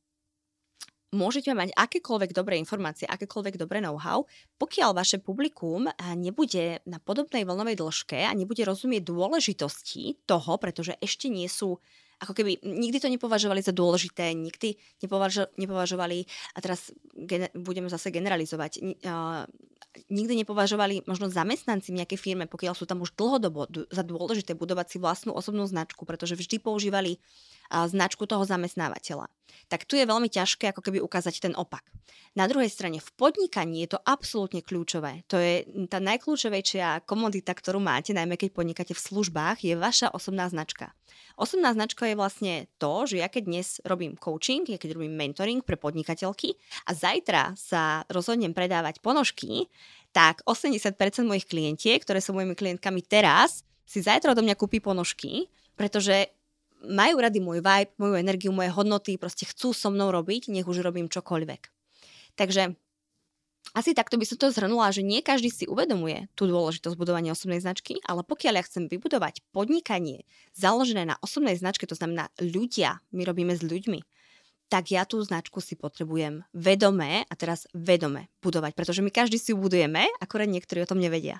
môžete mať akékoľvek dobré informácie, akékoľvek dobré know-how, pokiaľ vaše publikum nebude na podobnej vlnovej dĺžke a nebude rozumieť dôležitosti toho, pretože ešte nie sú ako keby nikdy to nepovažovali za dôležité, nikdy nepovažo, nepovažovali, a teraz gener, budeme zase generalizovať, uh, nikdy nepovažovali možno zamestnanci v nejakej firme, pokiaľ sú tam už dlhodobo d- za dôležité budovať si vlastnú osobnú značku, pretože vždy používali uh, značku toho zamestnávateľa. Tak tu je veľmi ťažké ako keby ukázať ten opak. Na druhej strane v podnikaní je to absolútne kľúčové. To je tá najkľúčovejšia komodita, ktorú máte, najmä keď podnikáte v službách, je vaša osobná značka. Osobná značka je vlastne to, že ja keď dnes robím coaching, ja keď robím mentoring pre podnikateľky a zajtra sa rozhodnem predávať ponožky, tak osemdesiat percent mojich klientiek, ktoré sú mojimi klientkami teraz, si zajtra odo mňa kúpi ponožky, pretože majú rady môj vibe, moju energiu, moje hodnoty, proste chcú so mnou robiť, nech už robím čokoľvek. Takže asi takto by som to zhrnula, že nie každý si uvedomuje tú dôležitosť budovania osobnej značky, ale pokiaľ ja chcem vybudovať podnikanie založené na osobnej značke, to znamená ľudia, my robíme s ľuďmi, tak ja tú značku si potrebujem vedomé, a teraz vedome budovať, pretože my každý si ju budujeme, akorát niektorí o tom nevedia.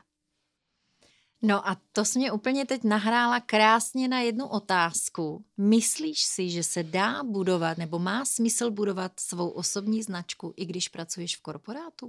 No a to jsi mě úplně teď nahrála krásně na jednu otázku. Myslíš si, že se dá budovat nebo má smysl budovat svou osobní značku, i když pracuješ v korporátu?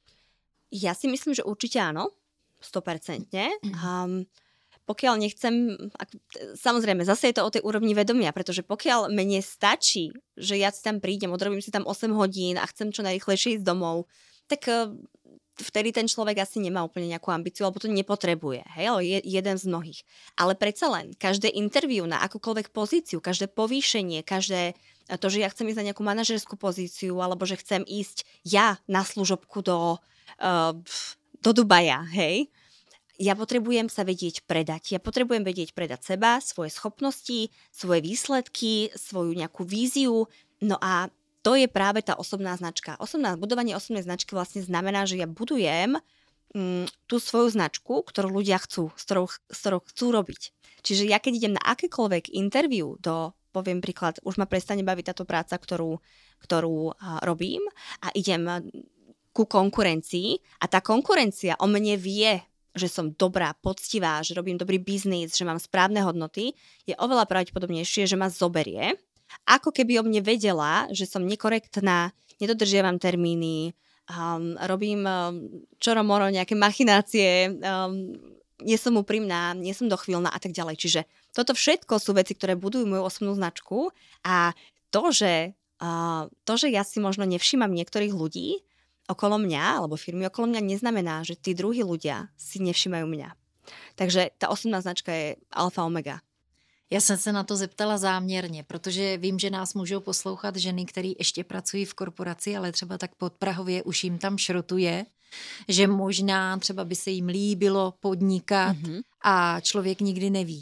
Ja si myslím, že určite áno, sto percent. Um, pokiaľ nechcem, ak, samozrejme, zase je to o tej úrovni vedomia, pretože pokiaľ mne stačí, že ja si tam prídem, odrobím si tam osem hodín a chcem čo najrýchlejšie ísť domov, tak vtedy ten človek asi nemá úplne nejakú ambíciu, alebo to nepotrebuje, hej, ale je jeden z mnohých. Ale predsa len, každé interview na akúkoľvek pozíciu, každé povýšenie, každé to, že ja chcem ísť na nejakú manažerskú pozíciu, alebo že chcem ísť ja na služobku do, uh, do Dubaja, hej, ja potrebujem sa vedieť predať. Ja potrebujem vedieť predať seba, svoje schopnosti, svoje výsledky, svoju nejakú víziu, no a to je práve tá osobná značka. Osobná, budovanie osobnej značky vlastne znamená, že ja budujem mm, tú svoju značku, ktorú ľudia chcú, s ktorou, s ktorou chcú robiť. Čiže ja keď idem na akékoľvek interview do, poviem príklad, už ma prestane baviť táto práca, ktorú, ktorú a, robím a idem ku konkurencii a tá konkurencia o mne vie, že som dobrá, poctivá, že robím dobrý biznis, že mám správne hodnoty, je oveľa pravdepodobnejšie, že ma zoberie, ako keby o mne vedela, že som nekorektná, nedodržiavam termíny, um, robím um, čoromoro nejaké machinácie, um, nie som úprimná, nie som dochvíľná a tak ďalej. Čiže toto všetko sú veci, ktoré budujú moju osobnú značku a to, že, uh, to, že ja si možno nevšímam niektorých ľudí okolo mňa, alebo firmy okolo mňa, neznamená, že tí druhí ľudia si nevšímajú mňa. Takže tá osobná značka je alfa omega. Já jsem se na to zeptala záměrně, protože vím, že nás můžou poslouchat ženy, které ještě pracují v korporaci, ale třeba tak podprahově už jim tam šrotuje, že možná třeba by se jim líbilo podnikat mm-hmm. a člověk nikdy neví.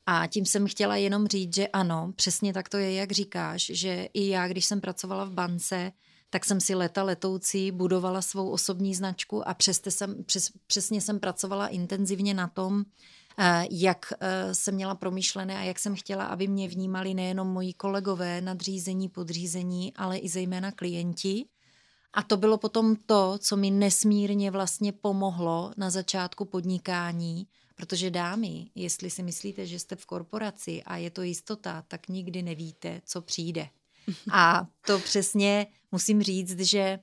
A tím jsem chtěla jenom říct, že ano, přesně tak to je, jak říkáš, že i já, když jsem pracovala v bance, tak jsem si leta letoucí budovala svou osobní značku a přesně jsem, přes, přesně jsem pracovala intenzivně na tom, jak jsem měla promyšlené a jak jsem chtěla, aby mě vnímali nejenom moji kolegové, nadřízení, podřízení, ale i zejména klienti. A to bylo potom to, co mi nesmírně vlastně pomohlo na začátku podnikání, protože dámy, jestli si myslíte, že jste v korporaci a je to jistota, tak nikdy nevíte, co přijde. A to přesně musím říct, že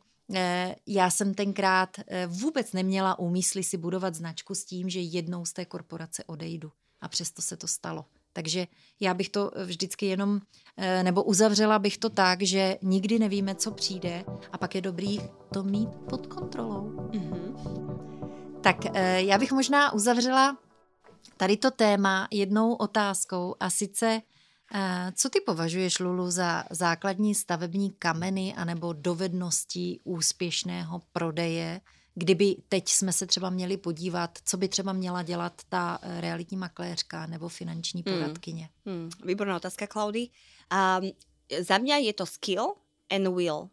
já jsem tenkrát vůbec neměla úmysly si budovat značku s tím, že jednou z té korporace odejdu. A přesto se to stalo. Takže já bych to vždycky jenom, nebo uzavřela bych to tak, že nikdy nevíme, co přijde a pak je dobrý to mít pod kontrolou. Mm-hmm. Tak já bych možná uzavřela tady to téma jednou otázkou a sice, co ty považuješ, Lulu, za základní stavební kameny anebo dovednosti úspěšného prodeje, kdyby teď jsme se třeba měli podívat, co by třeba měla dělat ta realitní makléřka nebo finanční poradkyně? Hmm. Hmm. Výborná otázka, Klaudy. Um, za mňa je to skill and will.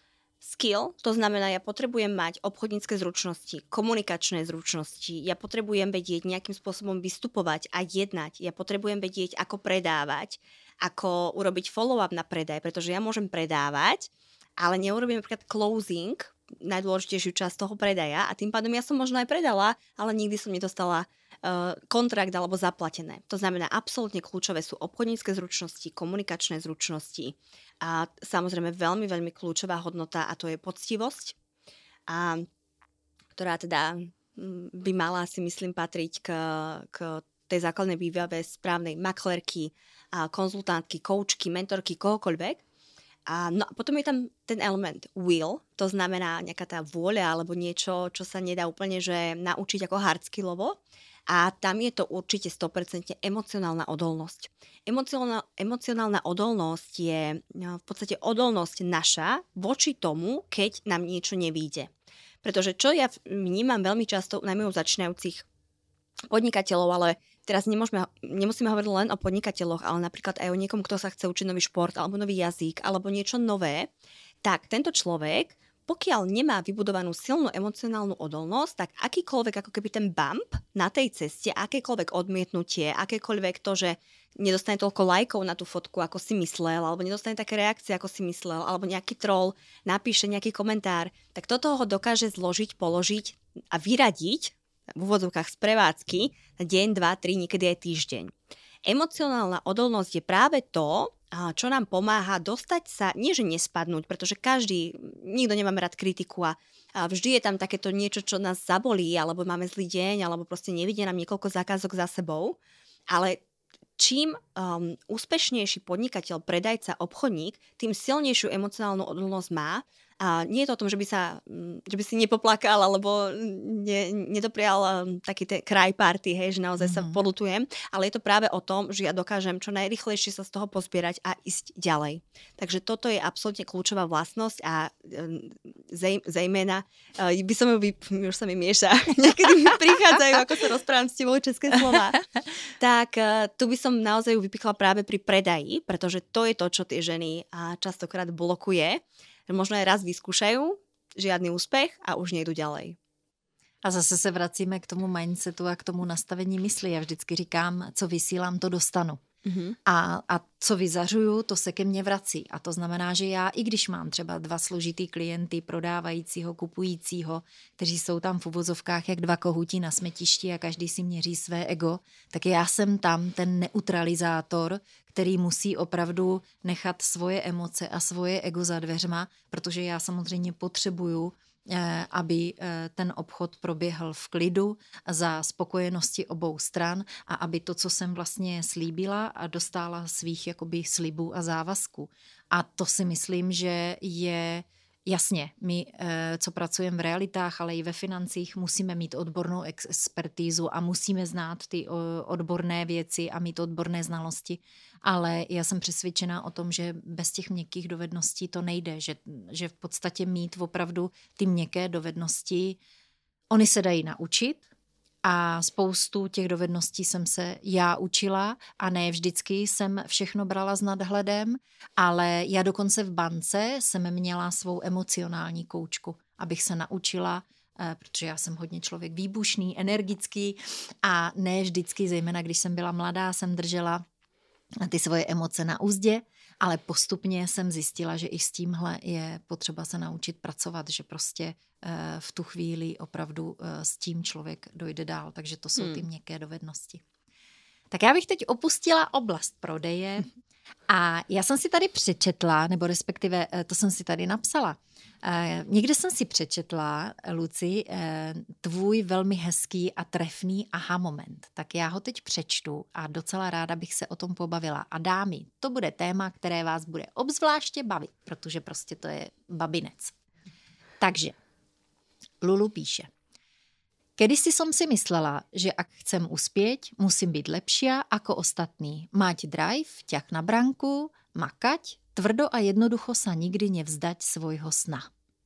Skill, to znamená, ja potrebujem mať obchodnícke zručnosti, komunikačné zručnosti, ja potrebujem vedieť nejakým spôsobom vystupovať a jednať, ja potrebujem vedieť, ako predávať, ako urobiť follow-up na predaj, pretože ja môžem predávať, ale neurobím napríklad closing, najdôležitejšiu časť toho predaja a tým pádom ja som možno aj predala, ale nikdy som nedostala uh, kontrakt alebo zaplatené. To znamená, absolútne kľúčové sú obchodnícke zručnosti, komunikačné zručnosti a samozrejme veľmi, veľmi kľúčová hodnota a to je poctivosť, a, ktorá teda by mala, si myslím, patriť k, k tej základnej výbave správnej maklérky, a konzultantky, koučky, mentorky, kohokoľvek. A no, potom je tam ten element will, to znamená nejaká tá vôľa alebo niečo, čo sa nedá úplne že naučiť ako hardskillovo. A tam je to určite sto percent emocionálna odolnosť. Emocionálna, emocionálna odolnosť je no, v podstate odolnosť naša voči tomu, keď nám niečo nevíde. Pretože čo ja vnímam veľmi často, najmä u začínajúcich podnikateľov, ale teraz nemôžeme, nemusíme hovoriť len o podnikateľoch, ale napríklad aj o niekom, kto sa chce učiť nový šport alebo nový jazyk alebo niečo nové, tak tento človek, pokiaľ nemá vybudovanú silnú emocionálnu odolnosť, tak akýkoľvek ako keby ten bump na tej ceste, akékoľvek odmietnutie, akékoľvek to, že nedostane toľko lajkov na tú fotku, ako si myslel, alebo nedostane také reakcie, ako si myslel, alebo nejaký troll napíše nejaký komentár, tak toto ho dokáže zložiť, položiť a vyradiť v úvodzovkách z prevádzky na deň, dva, tri, niekedy aj týždeň. Emocionálna odolnosť je práve to, čo nám pomáha dostať sa, nie že nespadnúť, pretože každý, nikto nemáme rád kritiku a vždy je tam takéto niečo, čo nás zabolí, alebo máme zlý deň, alebo proste nevidie nám niekoľko zákazok za sebou, ale čím um, úspešnejší podnikateľ, predajca, obchodník, tým silnejšiu emocionálnu odolnosť má. A nie je to o tom, že by, sa, že by si nepoplakal alebo ne, nedoprial um, taký ten cry party, hej, že naozaj mm-hmm. sa poľutujem, ale je to práve o tom, že ja dokážem čo najrýchlejšie sa z toho pozbierať a ísť ďalej. Takže toto je absolútne kľúčová vlastnosť a um, zej, zejména, uh, by som ju, vy, už sa mi mieša, niekedy mi prichádzajú, ako sa rozprávam s tebou české slova, tak uh, tu by som naozaj ju vypichla práve pri predaji, pretože to je to, čo tie ženy uh, častokrát blokuje. Možno aj raz vyskúšajú, žiadny úspech a už nejdu ďalej. A zase se vracíme k tomu mindsetu a k tomu nastavení mysli. Já vždycky říkám, co vysílám, to dostanu. Mm-hmm. A, a co vyzařuju, to se ke mně vrací. A to znamená, že já, i když mám třeba dva složitý klienty, prodávajícího, kupujícího, kteří jsou tam v uvozovkách jak dva kohutí na smetišti a každý si měří své ego, tak já jsem tam ten neutralizátor, který musí opravdu nechat svoje emoce a svoje ego za dveřma, protože já samozřejmě potřebuju, aby ten obchod proběhl v klidu za spokojenosti obou stran a aby to, co jsem vlastně slíbila, a dostála svých jakoby slibů a závazků. A to si myslím, že je jasně, my, co pracujeme v realitách, ale i ve financích, musíme mít odbornou expertízu a musíme znát ty odborné věci a mít odborné znalosti, ale já jsem přesvědčená o tom, že bez těch měkkých dovedností to nejde, že, že v podstatě mít opravdu ty měkké dovednosti, oni se dají naučit, a spoustu těch dovedností jsem se já učila a ne vždycky jsem všechno brala s nadhledem, ale já dokonce v bance jsem měla svou emocionální koučku, abych se naučila, protože já jsem hodně člověk výbušný, energický a ne vždycky, zejména když jsem byla mladá, jsem držela ty svoje emoce na úzdě, ale postupně jsem zjistila, že i s tímhle je potřeba se naučit pracovat, že prostě v tu chvíli opravdu s tím člověk dojde dál, takže to jsou ty měkké dovednosti. Tak já bych teď opustila oblast prodeje a já jsem si tady přečetla, nebo respektive to jsem si tady napsala. Někde jsem si přečetla, Luci, tvůj velmi hezký a trefný aha moment. Tak já ho teď přečtu a docela ráda bych se o tom pobavila. A dámy, to bude téma, které vás bude obzvláště bavit, protože prostě to je babinec. Takže Lulu píše. Kedysi som si myslela, že ak chcem uspieť, musím byť lepšia ako ostatní. Mať drive, ťah na branku, makať, tvrdo a jednoducho sa nikdy nevzdať svojho sna.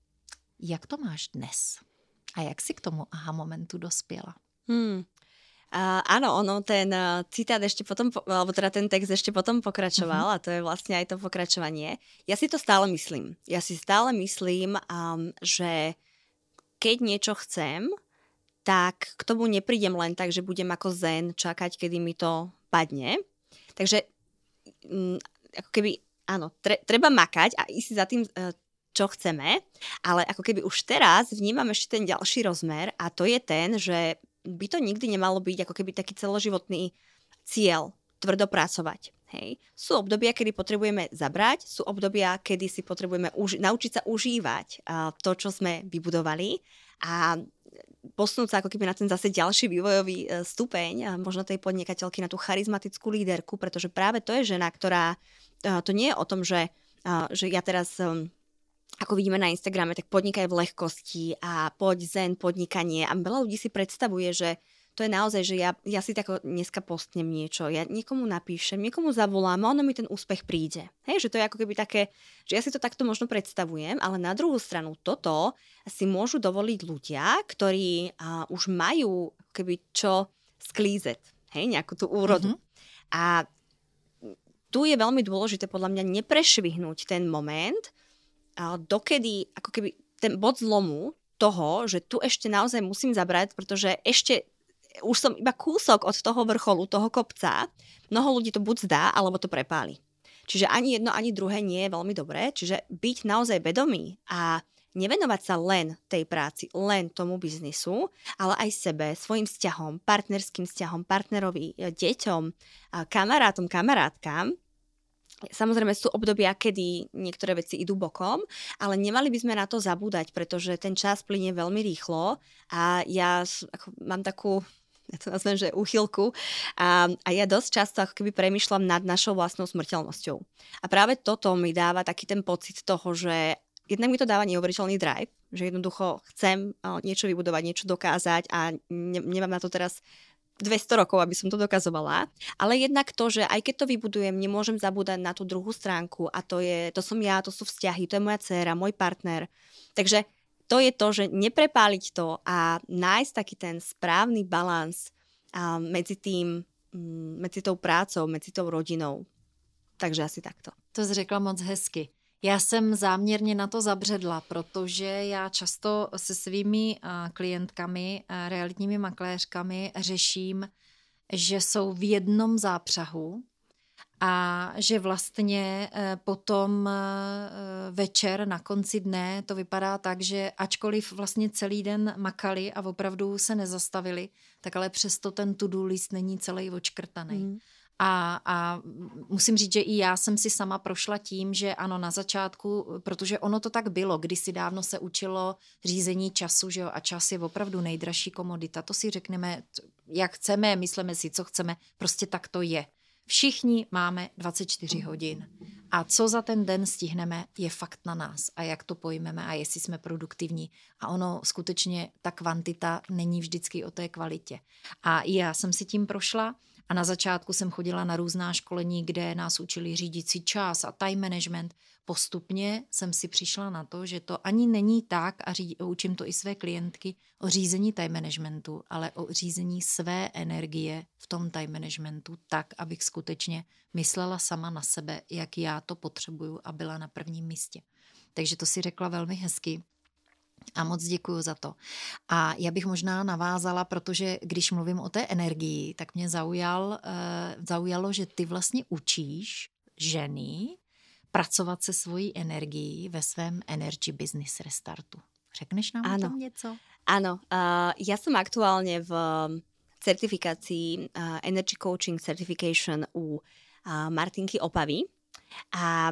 Jak to máš dnes? A jak si k tomu aha momentu dospiela? Hmm. Uh, áno, ono, ten uh, citát ešte potom, alebo teda ten text ešte potom pokračoval, mm-hmm. a to je vlastne aj to pokračovanie. Ja si to stále myslím. Ja si stále myslím, um, že keď niečo chcem, tak k tomu neprídem len tak, že budem ako zen čakať, kedy mi to padne. Takže um, ako keby, áno, tre, treba makať a ísť za tým, uh, čo chceme, ale ako keby už teraz vnímam ešte ten ďalší rozmer a to je ten, že by to nikdy nemalo byť ako keby taký celoživotný cieľ, tvrdo pracovať. Hej. Sú obdobia, kedy potrebujeme zabrať, sú obdobia, kedy si potrebujeme uži- naučiť sa užívať uh, to, čo sme vybudovali a posunúť sa ako keby na ten zase ďalší vývojový uh, stupeň, uh, možno tej podnikateľky na tú charizmatickú líderku, pretože práve to je žena, ktorá, uh, to nie je o tom, že, uh, že ja teraz... Um, ako vidíme na Instagrame, tak podnikaj v ľahkosti a poď zen podnikanie. A veľa ľudí si predstavuje, že to je naozaj, že ja, ja si tako dneska postnem niečo, ja niekomu napíšem, niekomu zavolám a ono mi ten úspech príde. Hej, že to je ako keby také, že ja si to takto možno predstavujem, ale na druhú stranu toto si môžu dovoliť ľudia, ktorí uh, už majú keby čo sklízet, hej, nejakú tú úrodu. Mm-hmm. A tu je veľmi dôležité podľa mňa neprešvihnúť ten moment, dokedy ako keby ten bod zlomu toho, že tu ešte naozaj musím zabrať, pretože ešte už som iba kúsok od toho vrcholu, toho kopca, mnoho ľudí to buď zdá, alebo to prepáli. Čiže ani jedno, ani druhé nie je veľmi dobré, čiže byť naozaj vedomý a nevenovať sa len tej práci, len tomu biznisu, ale aj sebe, svojim vzťahom, partnerským vzťahom, partnerovi, deťom, kamarátom, kamarátkam. Samozrejme sú obdobia, kedy niektoré veci idú bokom, ale nemali by sme na to zabúdať, pretože ten čas plynie veľmi rýchlo a ja ako, mám takú, ja to nazvem, že úchylku a, a ja dosť často ako keby premýšľam nad našou vlastnou smrteľnosťou. A práve toto mi dáva taký ten pocit toho, že jednak mi to dáva neuveriteľný drive, že jednoducho chcem niečo vybudovať, niečo dokázať a ne, nemám na to teraz dvesto rokov, aby som to dokazovala, ale jednak to, že aj keď to vybudujem, nemôžem zabúdať na tú druhú stránku a to je, to som ja, to sú vzťahy, to je moja dcéra, môj partner. Takže to je to, že neprepáliť to a nájsť taký ten správny balans medzi tým, medzi tou prácou, medzi tou rodinou. Takže asi takto. To jsi řekla moc hezky. Já jsem záměrně na to zabředla, protože já často se svými klientkami, realitními makléřkami řeším, že jsou v jednom zápřahu a že vlastně potom večer na konci dne to vypadá tak, že ačkoliv vlastně celý den makali a opravdu se nezastavili, tak ale přesto ten to-do list není celý odškrtaný. Mm. A, a musím říct, že i já jsem si sama prošla tím, že ano, na začátku, protože ono to tak bylo, kdysi dávno se učilo řízení času, že jo, a čas je opravdu nejdražší komodita. To si řekneme, jak chceme, myslíme si, co chceme, prostě tak to je. Všichni máme dvacet čtyři hodin a co za ten den stihneme, je fakt na nás a jak to pojmeme a jestli jsme produktivní. A ono skutečně, ta kvantita není vždycky o té kvalitě. A já jsem si tím prošla A na začátku jsem chodila na různá školení, kde nás učili řídit si čas a time management. Postupně jsem si přišla na to, že to ani není tak, a ří, učím to i své klientky, o řízení time managementu, ale o řízení své energie v tom time managementu tak, abych skutečně myslela sama na sebe, jak já to potřebuju a byla na prvním místě. Takže to si řekla velmi hezky. A moc děkuju za to. A já bych možná navázala, protože když mluvím o té energii, tak mě zaujal, uh, zaujalo, že ty vlastně učíš ženy pracovat se svojí energií ve svém Energy Business Restartu. Řekneš nám Áno. o tom něco? Áno, uh, ja som aktuálne v certifikácii uh, Energy Coaching Certification u uh, Martinky Opavy a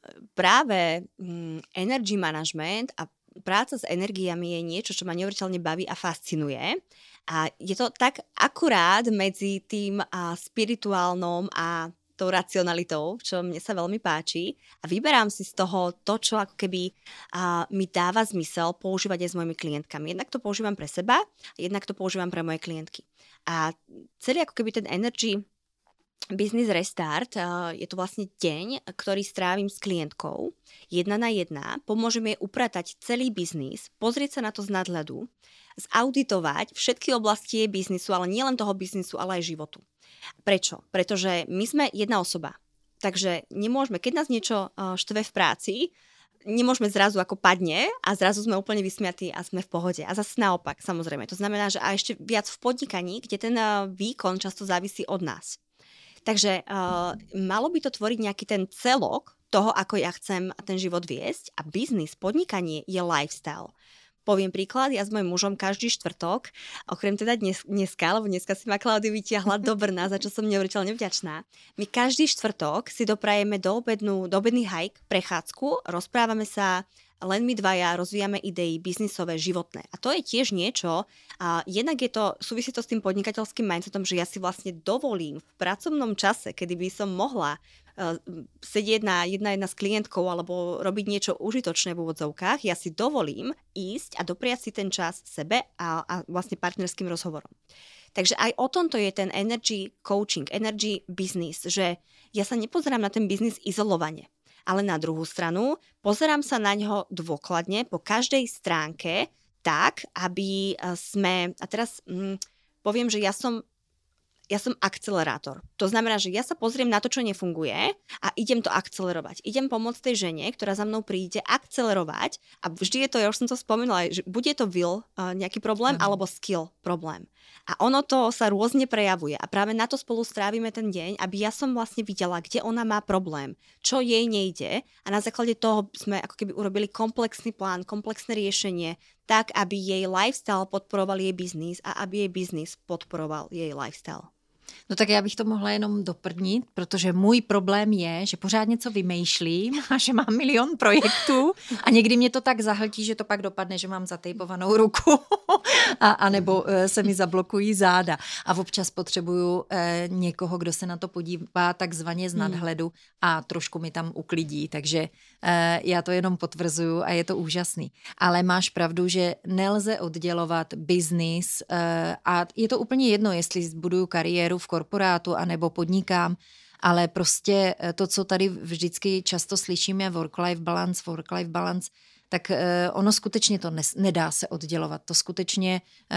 práve um, energy management a práca s energiami je niečo, čo ma neuveriteľne baví a fascinuje. A je to tak akurát medzi tým uh, spirituálnom a tou racionalitou, čo mne sa veľmi páči. A vyberám si z toho to, čo ako keby uh, mi dáva zmysel používať aj s mojimi klientkami. Jednak to používam pre seba, jednak to používam pre moje klientky. A celý ako keby ten energy Business Restart, uh, je to vlastne deň, ktorý strávim s klientkou, jedna na jedna, pomôžem jej upratať celý biznis, pozrieť sa na to z nadhľadu, zauditovať všetky oblasti jej biznisu, ale nielen toho biznisu, ale aj životu. Prečo? Pretože my sme jedna osoba, takže nemôžeme, keď nás niečo uh, štve v práci, nemôžeme zrazu ako padne a zrazu sme úplne vysmiatí a sme v pohode. A zase naopak, samozrejme. To znamená, že a ešte viac v podnikaní, kde ten uh, výkon často závisí od nás. Takže uh, malo by to tvoriť nejaký ten celok toho, ako ja chcem ten život viesť a biznis, podnikanie je lifestyle. Poviem príklad, ja s mojím mužom každý štvrtok, okrem teda dnes, dneska, lebo dneska si ma Klaudia vytiahla do Brna, za čo som neuveriteľne vďačná. My každý štvrtok si doprajeme do, obednú, do obedný hike, prechádzku, rozprávame sa, len my dvaja rozvíjame idei biznisové, životné. A to je tiež niečo, a jednak je to, súvisí to s tým podnikateľským mindsetom, že ja si vlastne dovolím v pracovnom čase, kedy by som mohla uh, sedieť na jedna jedna s klientkou alebo robiť niečo užitočné v úvodzovkách, ja si dovolím ísť a dopriať si ten čas sebe a, a vlastne partnerským rozhovorom. Takže aj o tomto je ten energy coaching, energy business, že ja sa nepozerám na ten biznis izolovane. Ale na druhú stranu pozerám sa na ňo dôkladne po každej stránke tak, aby sme, a teraz hm, poviem, že ja som ja som akcelerátor. To znamená, že ja sa pozriem na to, čo nefunguje a idem to akcelerovať. Idem pomôcť tej žene, ktorá za mnou príde, akcelerovať a vždy je to, ja už som to spomenula, že bude to will nejaký problém mm. alebo skill problém. A ono to sa rôzne prejavuje a práve na to spolu strávime ten deň, aby ja som vlastne videla, kde ona má problém, čo jej nejde a na základe toho sme ako keby urobili komplexný plán, komplexné riešenie, tak, aby jej lifestyle podporoval jej biznis a aby jej biznis podporoval jej lifestyle. No tak já bych to mohla jenom doplnit, protože můj problém je, že pořád něco vymýšlím a že mám milion projektů a někdy mě to tak zahltí, že to pak dopadne, že mám zatejpovanou ruku a, a nebo se mi zablokují záda. A občas potřebuju eh, někoho, kdo se na to podívá takzvaně z nadhledu a trošku mi tam uklidí, takže eh, já to jenom potvrzuju a je to úžasný. Ale máš pravdu, že nelze oddělovat biznis eh, a je to úplně jedno, jestli zbuduju kariéru v korporátu anebo podnikám, ale prostě to, co tady vždycky často slyšíme, work-life balance, work-life balance, tak ono skutečně to nedá se oddělovat. To skutečně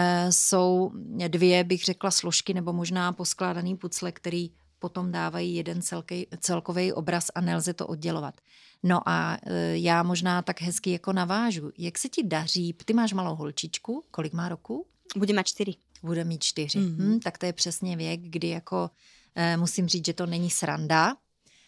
jsou dvě, bych řekla, složky nebo možná poskládaný pucle, který potom dávají jeden celkej, celkový obraz a nelze to oddělovat. No a já možná tak hezky jako navážu. Jak se ti daří? Ty máš malou holčičku, kolik má roku? Bude mať čtyři. Bude mít čtyři. Mm-hmm. Hm, tak to je přesně věk, kdy jako e, musím říct, že to není sranda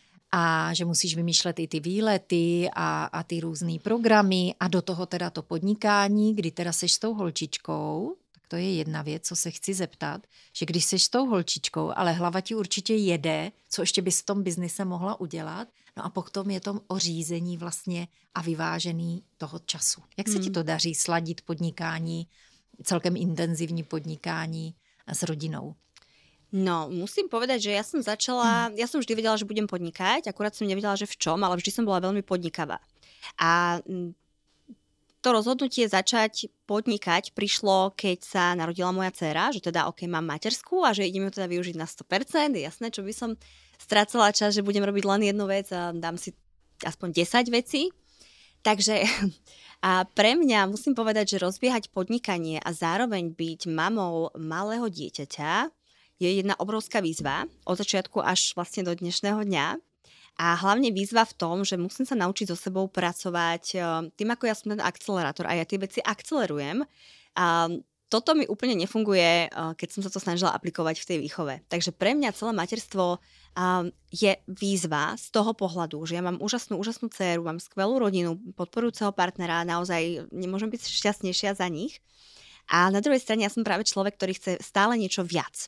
a že musíš vymýšlet i ty výlety a, a ty různý programy a do toho teda to podnikání, kdy teda seš s tou holčičkou, tak to je jedna věc, co se chci zeptat, že když seš s tou holčičkou, ale hlava ti určitě jede, co ještě bys v tom biznise mohla udělat, no a potom je to o řízení vlastně a vyvážený toho času. Jak se mm. ti to daří sladit podnikání, celkem intenzívne podnikání s rodinou? No, musím povedať, že ja som začala, ja som vždy vedela, že budem podnikať, akurát som nevedela, že v čom, ale vždy som bola veľmi podnikavá. A to to rozhodnutie začať podnikať prišlo, keď sa narodila moja dcéra, že teda ok, mám materskú a že ideme to teda využiť na sto percent. Je jasné, čo by som strácala čas, že budem robiť len jednu vec a dám si aspoň desať vecí. Takže a pre mňa musím povedať, že rozbiehať podnikanie a zároveň byť mamou malého dieťaťa je jedna obrovská výzva od začiatku až vlastne do dnešného dňa. A hlavne výzva v tom, že musím sa naučiť so sebou pracovať tým, ako ja som ten akcelerátor a ja tie veci akcelerujem. A toto mi úplne nefunguje, keď som sa to snažila aplikovať v tej výchove. Takže pre mňa celé materstvo je výzva z toho pohľadu, že ja mám úžasnú, úžasnú dcéru, mám skvelú rodinu, podporujúceho partnera, naozaj nemôžem byť šťastnejšia za nich. A na druhej strane ja som práve človek, ktorý chce stále niečo viac.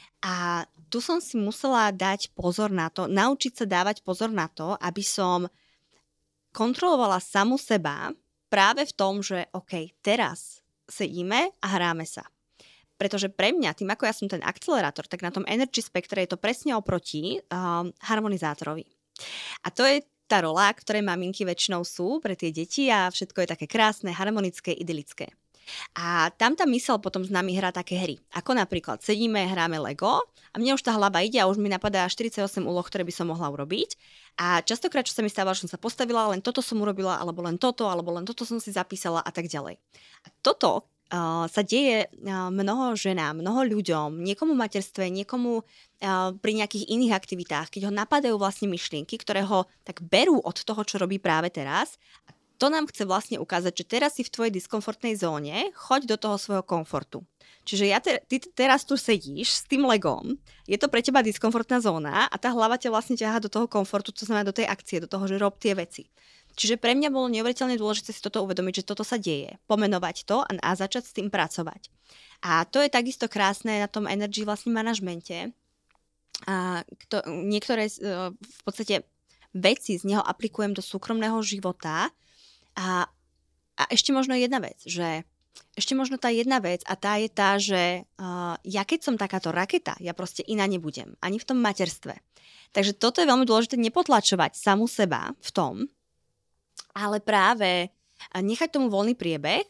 A tu som si musela dať pozor na to, naučiť sa dávať pozor na to, aby som kontrolovala samu seba práve v tom, že OK, teraz sedíme a hráme sa. Pretože pre mňa, tým ako ja som ten akcelerátor, tak na tom energy spektre je to presne oproti um, harmonizátorovi. A to je tá rola, ktorej maminky väčšinou sú pre tie deti a všetko je také krásne, harmonické, idylické. A tam tá myseľ potom s nami hrá také hry. Ako napríklad sedíme, hráme Lego a mne už tá hlava ide a už mi napadá štyridsaťosem úloh, ktoré by som mohla urobiť. A častokrát, čo sa mi stávalo, že som sa postavila, len toto som urobila, alebo len toto, alebo len toto som si zapísala a tak ďalej. A toto uh, sa deje uh, mnoho ženám, mnoho ľuďom, niekomu v materstve, niekomu uh, pri nejakých iných aktivitách, keď ho napadajú vlastne myšlienky, ktoré ho tak berú od toho, čo robí práve teraz. To nám chce vlastne ukázať, že teraz si v tvojej diskomfortnej zóne, choď do toho svojho komfortu. Čiže ja te, ty teraz tu sedíš s tým Legom, je to pre teba diskomfortná zóna a tá hlava ťa vlastne ťahá do toho komfortu, to znamená do tej akcie, do toho, že rob tie veci. Čiže pre mňa bolo neuveriteľne dôležité si toto uvedomiť, že toto sa deje, pomenovať to a, a začať s tým pracovať. A to je takisto krásne na tom energy vlastne manažmente. A kto, niektoré v podstate veci z neho aplikujem do súkromného života. A, a ešte možno jedna vec, že ešte možno tá jedna vec a tá je tá, že uh, ja keď som takáto raketa, ja proste iná nebudem, ani v tom materstve. Takže toto je veľmi dôležité nepotlačovať samu seba v tom, ale práve nechať tomu voľný priebeh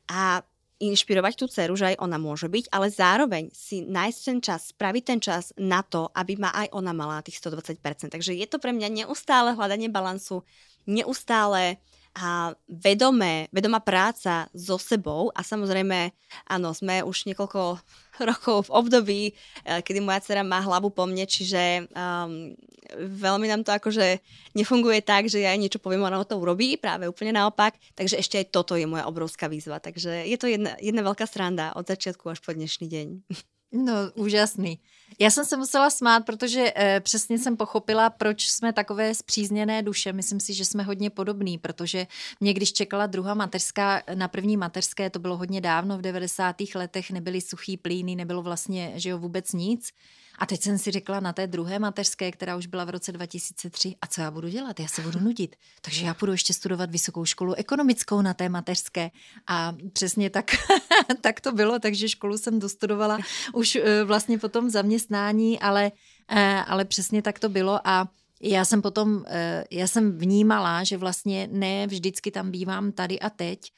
a inšpirovať tú dceru, že aj ona môže byť, ale zároveň si nájsť ten čas, spraviť ten čas na to, aby ma aj ona mala tých stodvadsať percent. Takže je to pre mňa neustále hľadanie balansu, neustále a vedomé, vedomá práca so sebou a samozrejme, áno, sme už niekoľko rokov v období, kedy moja dcera má hlavu po mne, čiže um, veľmi nám to akože nefunguje tak, že ja jej niečo poviem, ona to urobí, práve úplne naopak, takže ešte aj toto je moja obrovská výzva, takže je to jedna, jedna veľká sranda od začiatku až po dnešný deň. No, úžasný. Já jsem se musela smát, protože e, přesně jsem pochopila, proč jsme takové spřízněné duše. Myslím si, že jsme hodně podobný, protože mě, když čekala druhá mateřská, na první mateřské, to bylo hodně dávno, v devadesátých letech, nebyly suchý plíny, nebylo vlastně, že jo, vůbec nic. A teď jsem si řekla na té druhé mateřské, která už byla v roce dva tisíce tři, a co já budu dělat? Já se budu nudit. Takže já půjdu ještě studovat vysokou školu ekonomickou na té mateřské. A přesně tak, tak to bylo, takže školu jsem dostudovala už vlastně potom v zaměstnání, ale, ale přesně tak to bylo a já jsem potom, já jsem vnímala, že vlastně ne vždycky tam bývám tady a teď,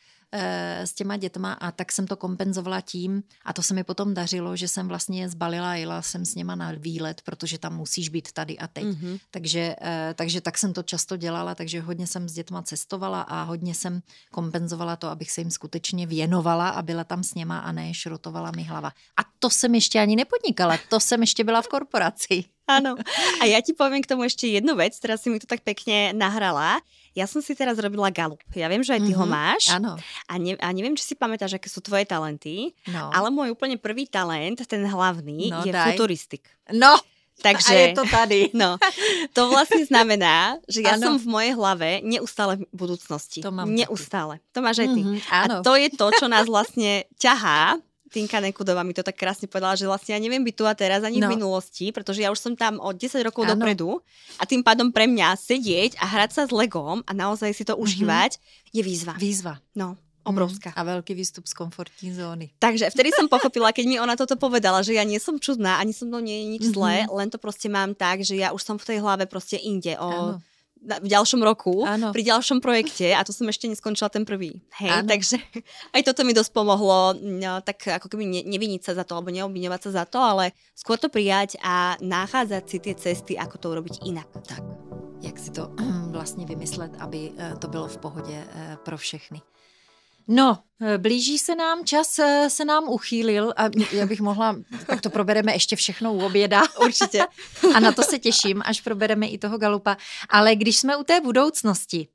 s těma dětma a tak jsem to kompenzovala tím a to se mi potom dařilo, že jsem vlastně zbalila a jela jsem s něma na výlet, protože tam musíš být tady a teď. Mm-hmm. Takže, takže tak jsem to často dělala, takže hodně jsem s dětma cestovala a hodně jsem kompenzovala to, abych se jim skutečně věnovala a byla tam s něma a ne šrotovala mi hlava. A to jsem ještě ani nepodnikala, to jsem ještě byla v korporaci. Áno. A ja ti poviem k tomu ešte jednu vec, teraz si mi to tak pekne nahrala. Ja som si teraz robila galup. Ja viem, že aj ty mm-hmm. ho máš. Áno. A, ne, a neviem, či si pamätáš, aké sú tvoje talenty, no. ale môj úplne prvý talent, ten hlavný, no, je daj. futuristik. No, takže, a je to tady. No, to vlastne znamená, že ja ano. som v mojej hlave neustále v budúcnosti. To mám neustále. Taky. To máš aj ty. Mm-hmm, a to je to, čo nás vlastne ťahá. Tinka Nekudová mi to tak krásne povedala, že vlastne ja neviem byť tu a teraz ani no. v minulosti, pretože ja už som tam od desať rokov ano. dopredu a tým pádom pre mňa sedieť a hrať sa s Legom a naozaj si to mm-hmm. užívať je výzva. Výzva. No, obrovská. Mm, a veľký výstup z komfortní zóny. Takže vtedy som pochopila, keď mi ona toto povedala, že ja nie som čudná, ani som mnou nie je nič mm-hmm. zlé, len to proste mám tak, že ja už som v tej hlave proste inde o... Ano. v ďalšom roku, ano. pri ďalšom projekte a to som ešte neskončila ten prvý. Hej, ano. takže aj toto mi dosť pomohlo, no, tak ako keby ne, neviniť sa za to, alebo neobviňovať sa za to, ale skôr to prijať a nachádzať si tie cesty, ako to urobiť inak. Tak, jak si to vlastně vymyslet, aby to bylo v pohodě pro všechny. No, blíží se nám, čas se nám uchýlil a já bych mohla, tak to probereme ještě všechno u oběda. Určitě. A na to se těším, až probereme i toho Galupa. Ale když jsme u té budoucnosti,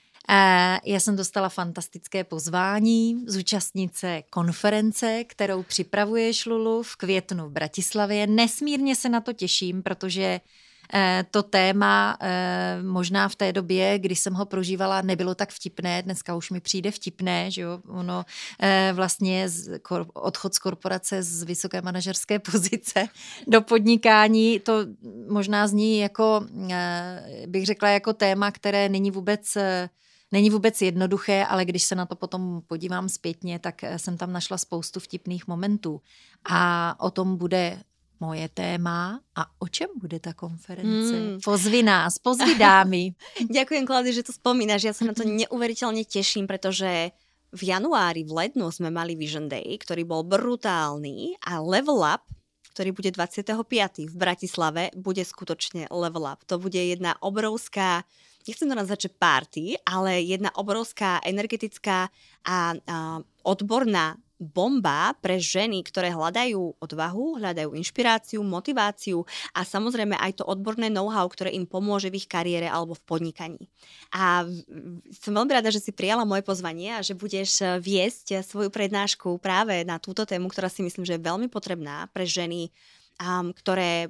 já jsem dostala fantastické pozvání zúčastnit se konference, kterou připravuješ, Lulu, v květnu v Bratislavě. Nesmírně se na to těším, protože to téma možná v té době, kdy jsem ho prožívala, nebylo tak vtipné, dneska už mi přijde vtipné, že jo, ono vlastně odchod z korporace z vysoké manažerské pozice do podnikání, to možná zní jako, bych řekla, jako téma, které není vůbec Není vůbec jednoduché, ale když se na to potom podívám zpětně, tak jsem tam našla spoustu vtipných momentů. A o tom bude moje téma. A o čem bude ta konference? Mm. Pozvi nás, pozvi dámy. Ďakujem, Klaudia, že to spomínaš. Ja sa na to neuveriteľne teším, pretože v januári, v lednu sme mali Vision Day, ktorý bol brutálny a Level Up, ktorý bude dvadsiateho piateho v Bratislave, bude skutočne Level Up. To bude jedna obrovská, nechcem to nazvať, že party, ale jedna obrovská energetická a, a odborná bomba pre ženy, ktoré hľadajú odvahu, hľadajú inšpiráciu, motiváciu a samozrejme aj to odborné know-how, ktoré im pomôže v ich kariére alebo v podnikaní. A som veľmi rada, že si prijala moje pozvanie a že budeš viesť svoju prednášku práve na túto tému, ktorá si myslím, že je veľmi potrebná pre ženy, um, ktoré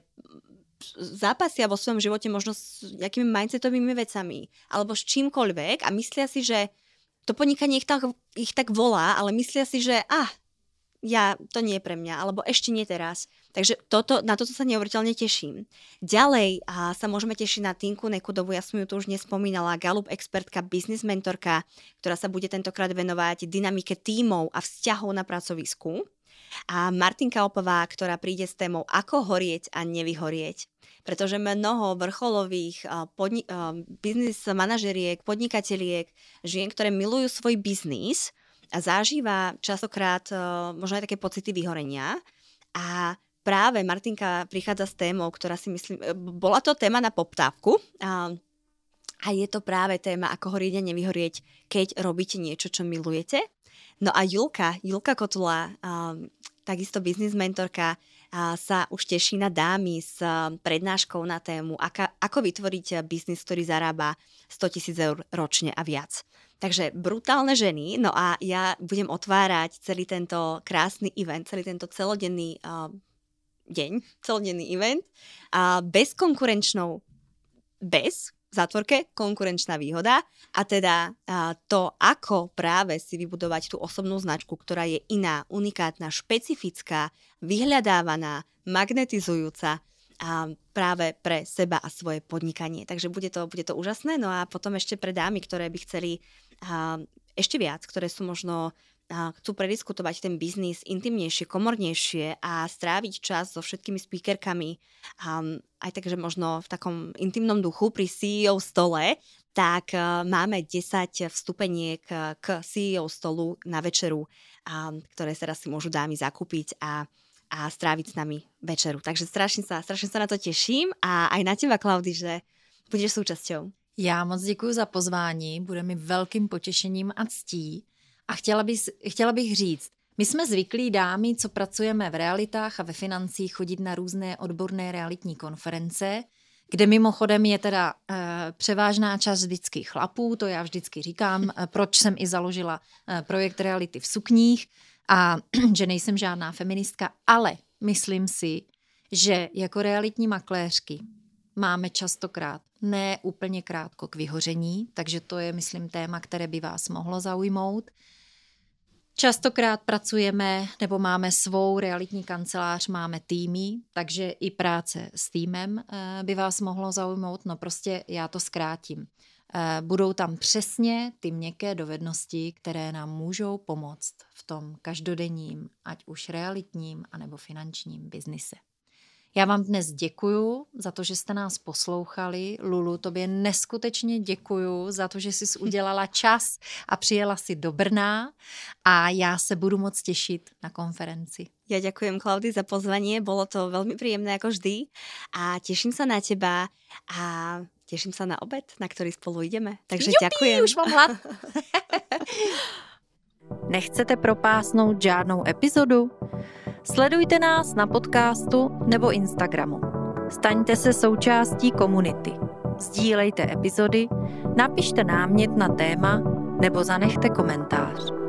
zápasia vo svojom živote možno s nejakými mindsetovými vecami alebo s čímkoľvek a myslia si, že to podnikanie ich tak, ich tak volá, ale myslia si, že ah, ja, to nie je pre mňa, alebo ešte nie teraz. Takže toto, na toto sa neuveriteľne teším. Ďalej a sa môžeme tešiť na Tinku Nekudovú, ja som ju tu už nespomínala, Galup expertka, business mentorka, ktorá sa bude tentokrát venovať dynamike tímov a vzťahov na pracovisku. A Martinka Opová, ktorá príde s témou ako horieť a nevyhorieť. Pretože mnoho vrcholových podni- biznis manažeriek, podnikateliek, žien, ktoré milujú svoj biznis a zažíva častokrát možno aj také pocity vyhorenia. A práve Martinka prichádza s témou, ktorá si myslím, bola to téma na poptávku a, a je to práve téma ako horieť a nevyhorieť, keď robíte niečo, čo milujete. No a Julka, Julka Kotula, um, takisto biznis mentorka, uh, sa už teší na dámy s uh, prednáškou na tému, aka, ako vytvoriť biznis, ktorý zarába stotisíc eur ročne a viac. Takže brutálne ženy, no a ja budem otvárať celý tento krásny event, celý tento celodenný uh, deň, celodenný event uh, bezkonkurenčnou, bez v zátvorke konkurenčná výhoda a teda a, to, ako práve si vybudovať tú osobnú značku, ktorá je iná, unikátna, špecifická, vyhľadávaná, magnetizujúca a práve pre seba a svoje podnikanie. Takže bude to, bude to úžasné. No a potom ešte pre dámy, ktoré by chceli a, ešte viac, ktoré sú možno a chcú prediskutovať ten biznis intimnejšie, komornejšie a stráviť čas so všetkými speakerkami um, aj takže možno v takom intimnom duchu pri sí í ó stole, tak uh, máme desať vstupeniek k sí í ó stolu na večeru, um, ktoré teraz si môžu dámy zakúpiť a, a stráviť s nami večeru. Takže strašne sa, strašne sa na to teším a aj na teba, Klaudi, že budeš súčasťou. Já moc děkuji za pozvání, bude mi velkým potěšením a ctí. A chtěla bych, chtěla bych říct, my jsme zvyklí dámy, co pracujeme v realitách a ve financích, chodit na různé odborné realitní konference, kde mimochodem je teda e, převážná část vždycky chlapů, to já vždycky říkám, e, proč jsem i založila e, projekt Reality v sukních a že nejsem žádná feministka, ale myslím si, že jako realitní makléřky máme častokrát ne úplně krátko k vyhoření, takže to je, myslím, téma, které by vás mohlo zaujmout. Častokrát pracujeme nebo máme svou realitní kancelář, máme týmy, takže i práce s týmem by vás mohlo zaujmout, no prostě já to zkrátím. Budou tam přesně ty měkké dovednosti, které nám můžou pomoct v tom každodenním, ať už realitním, anebo finančním biznise. Já vám dnes děkuju za to, že jste nás poslouchali. Lulu, tobě neskutečně děkuju za to, že jsi udělala čas a přijela si do Brna a já se budu moc těšit na konferenci. Ja ďakujem, Klaudii, za pozvanie. Bolo to veľmi príjemné ako vždy a teším sa na teba a teším sa na obed, na ktorý spolu ideme. Takže Jupi, ďakujem. Už mám hlad. Nechcete propásnout žádnou epizodu? Sledujte nás na podcastu nebo Instagramu. Staňte se součástí komunity. Sdílejte epizody, napište námět na téma nebo zanechte komentář.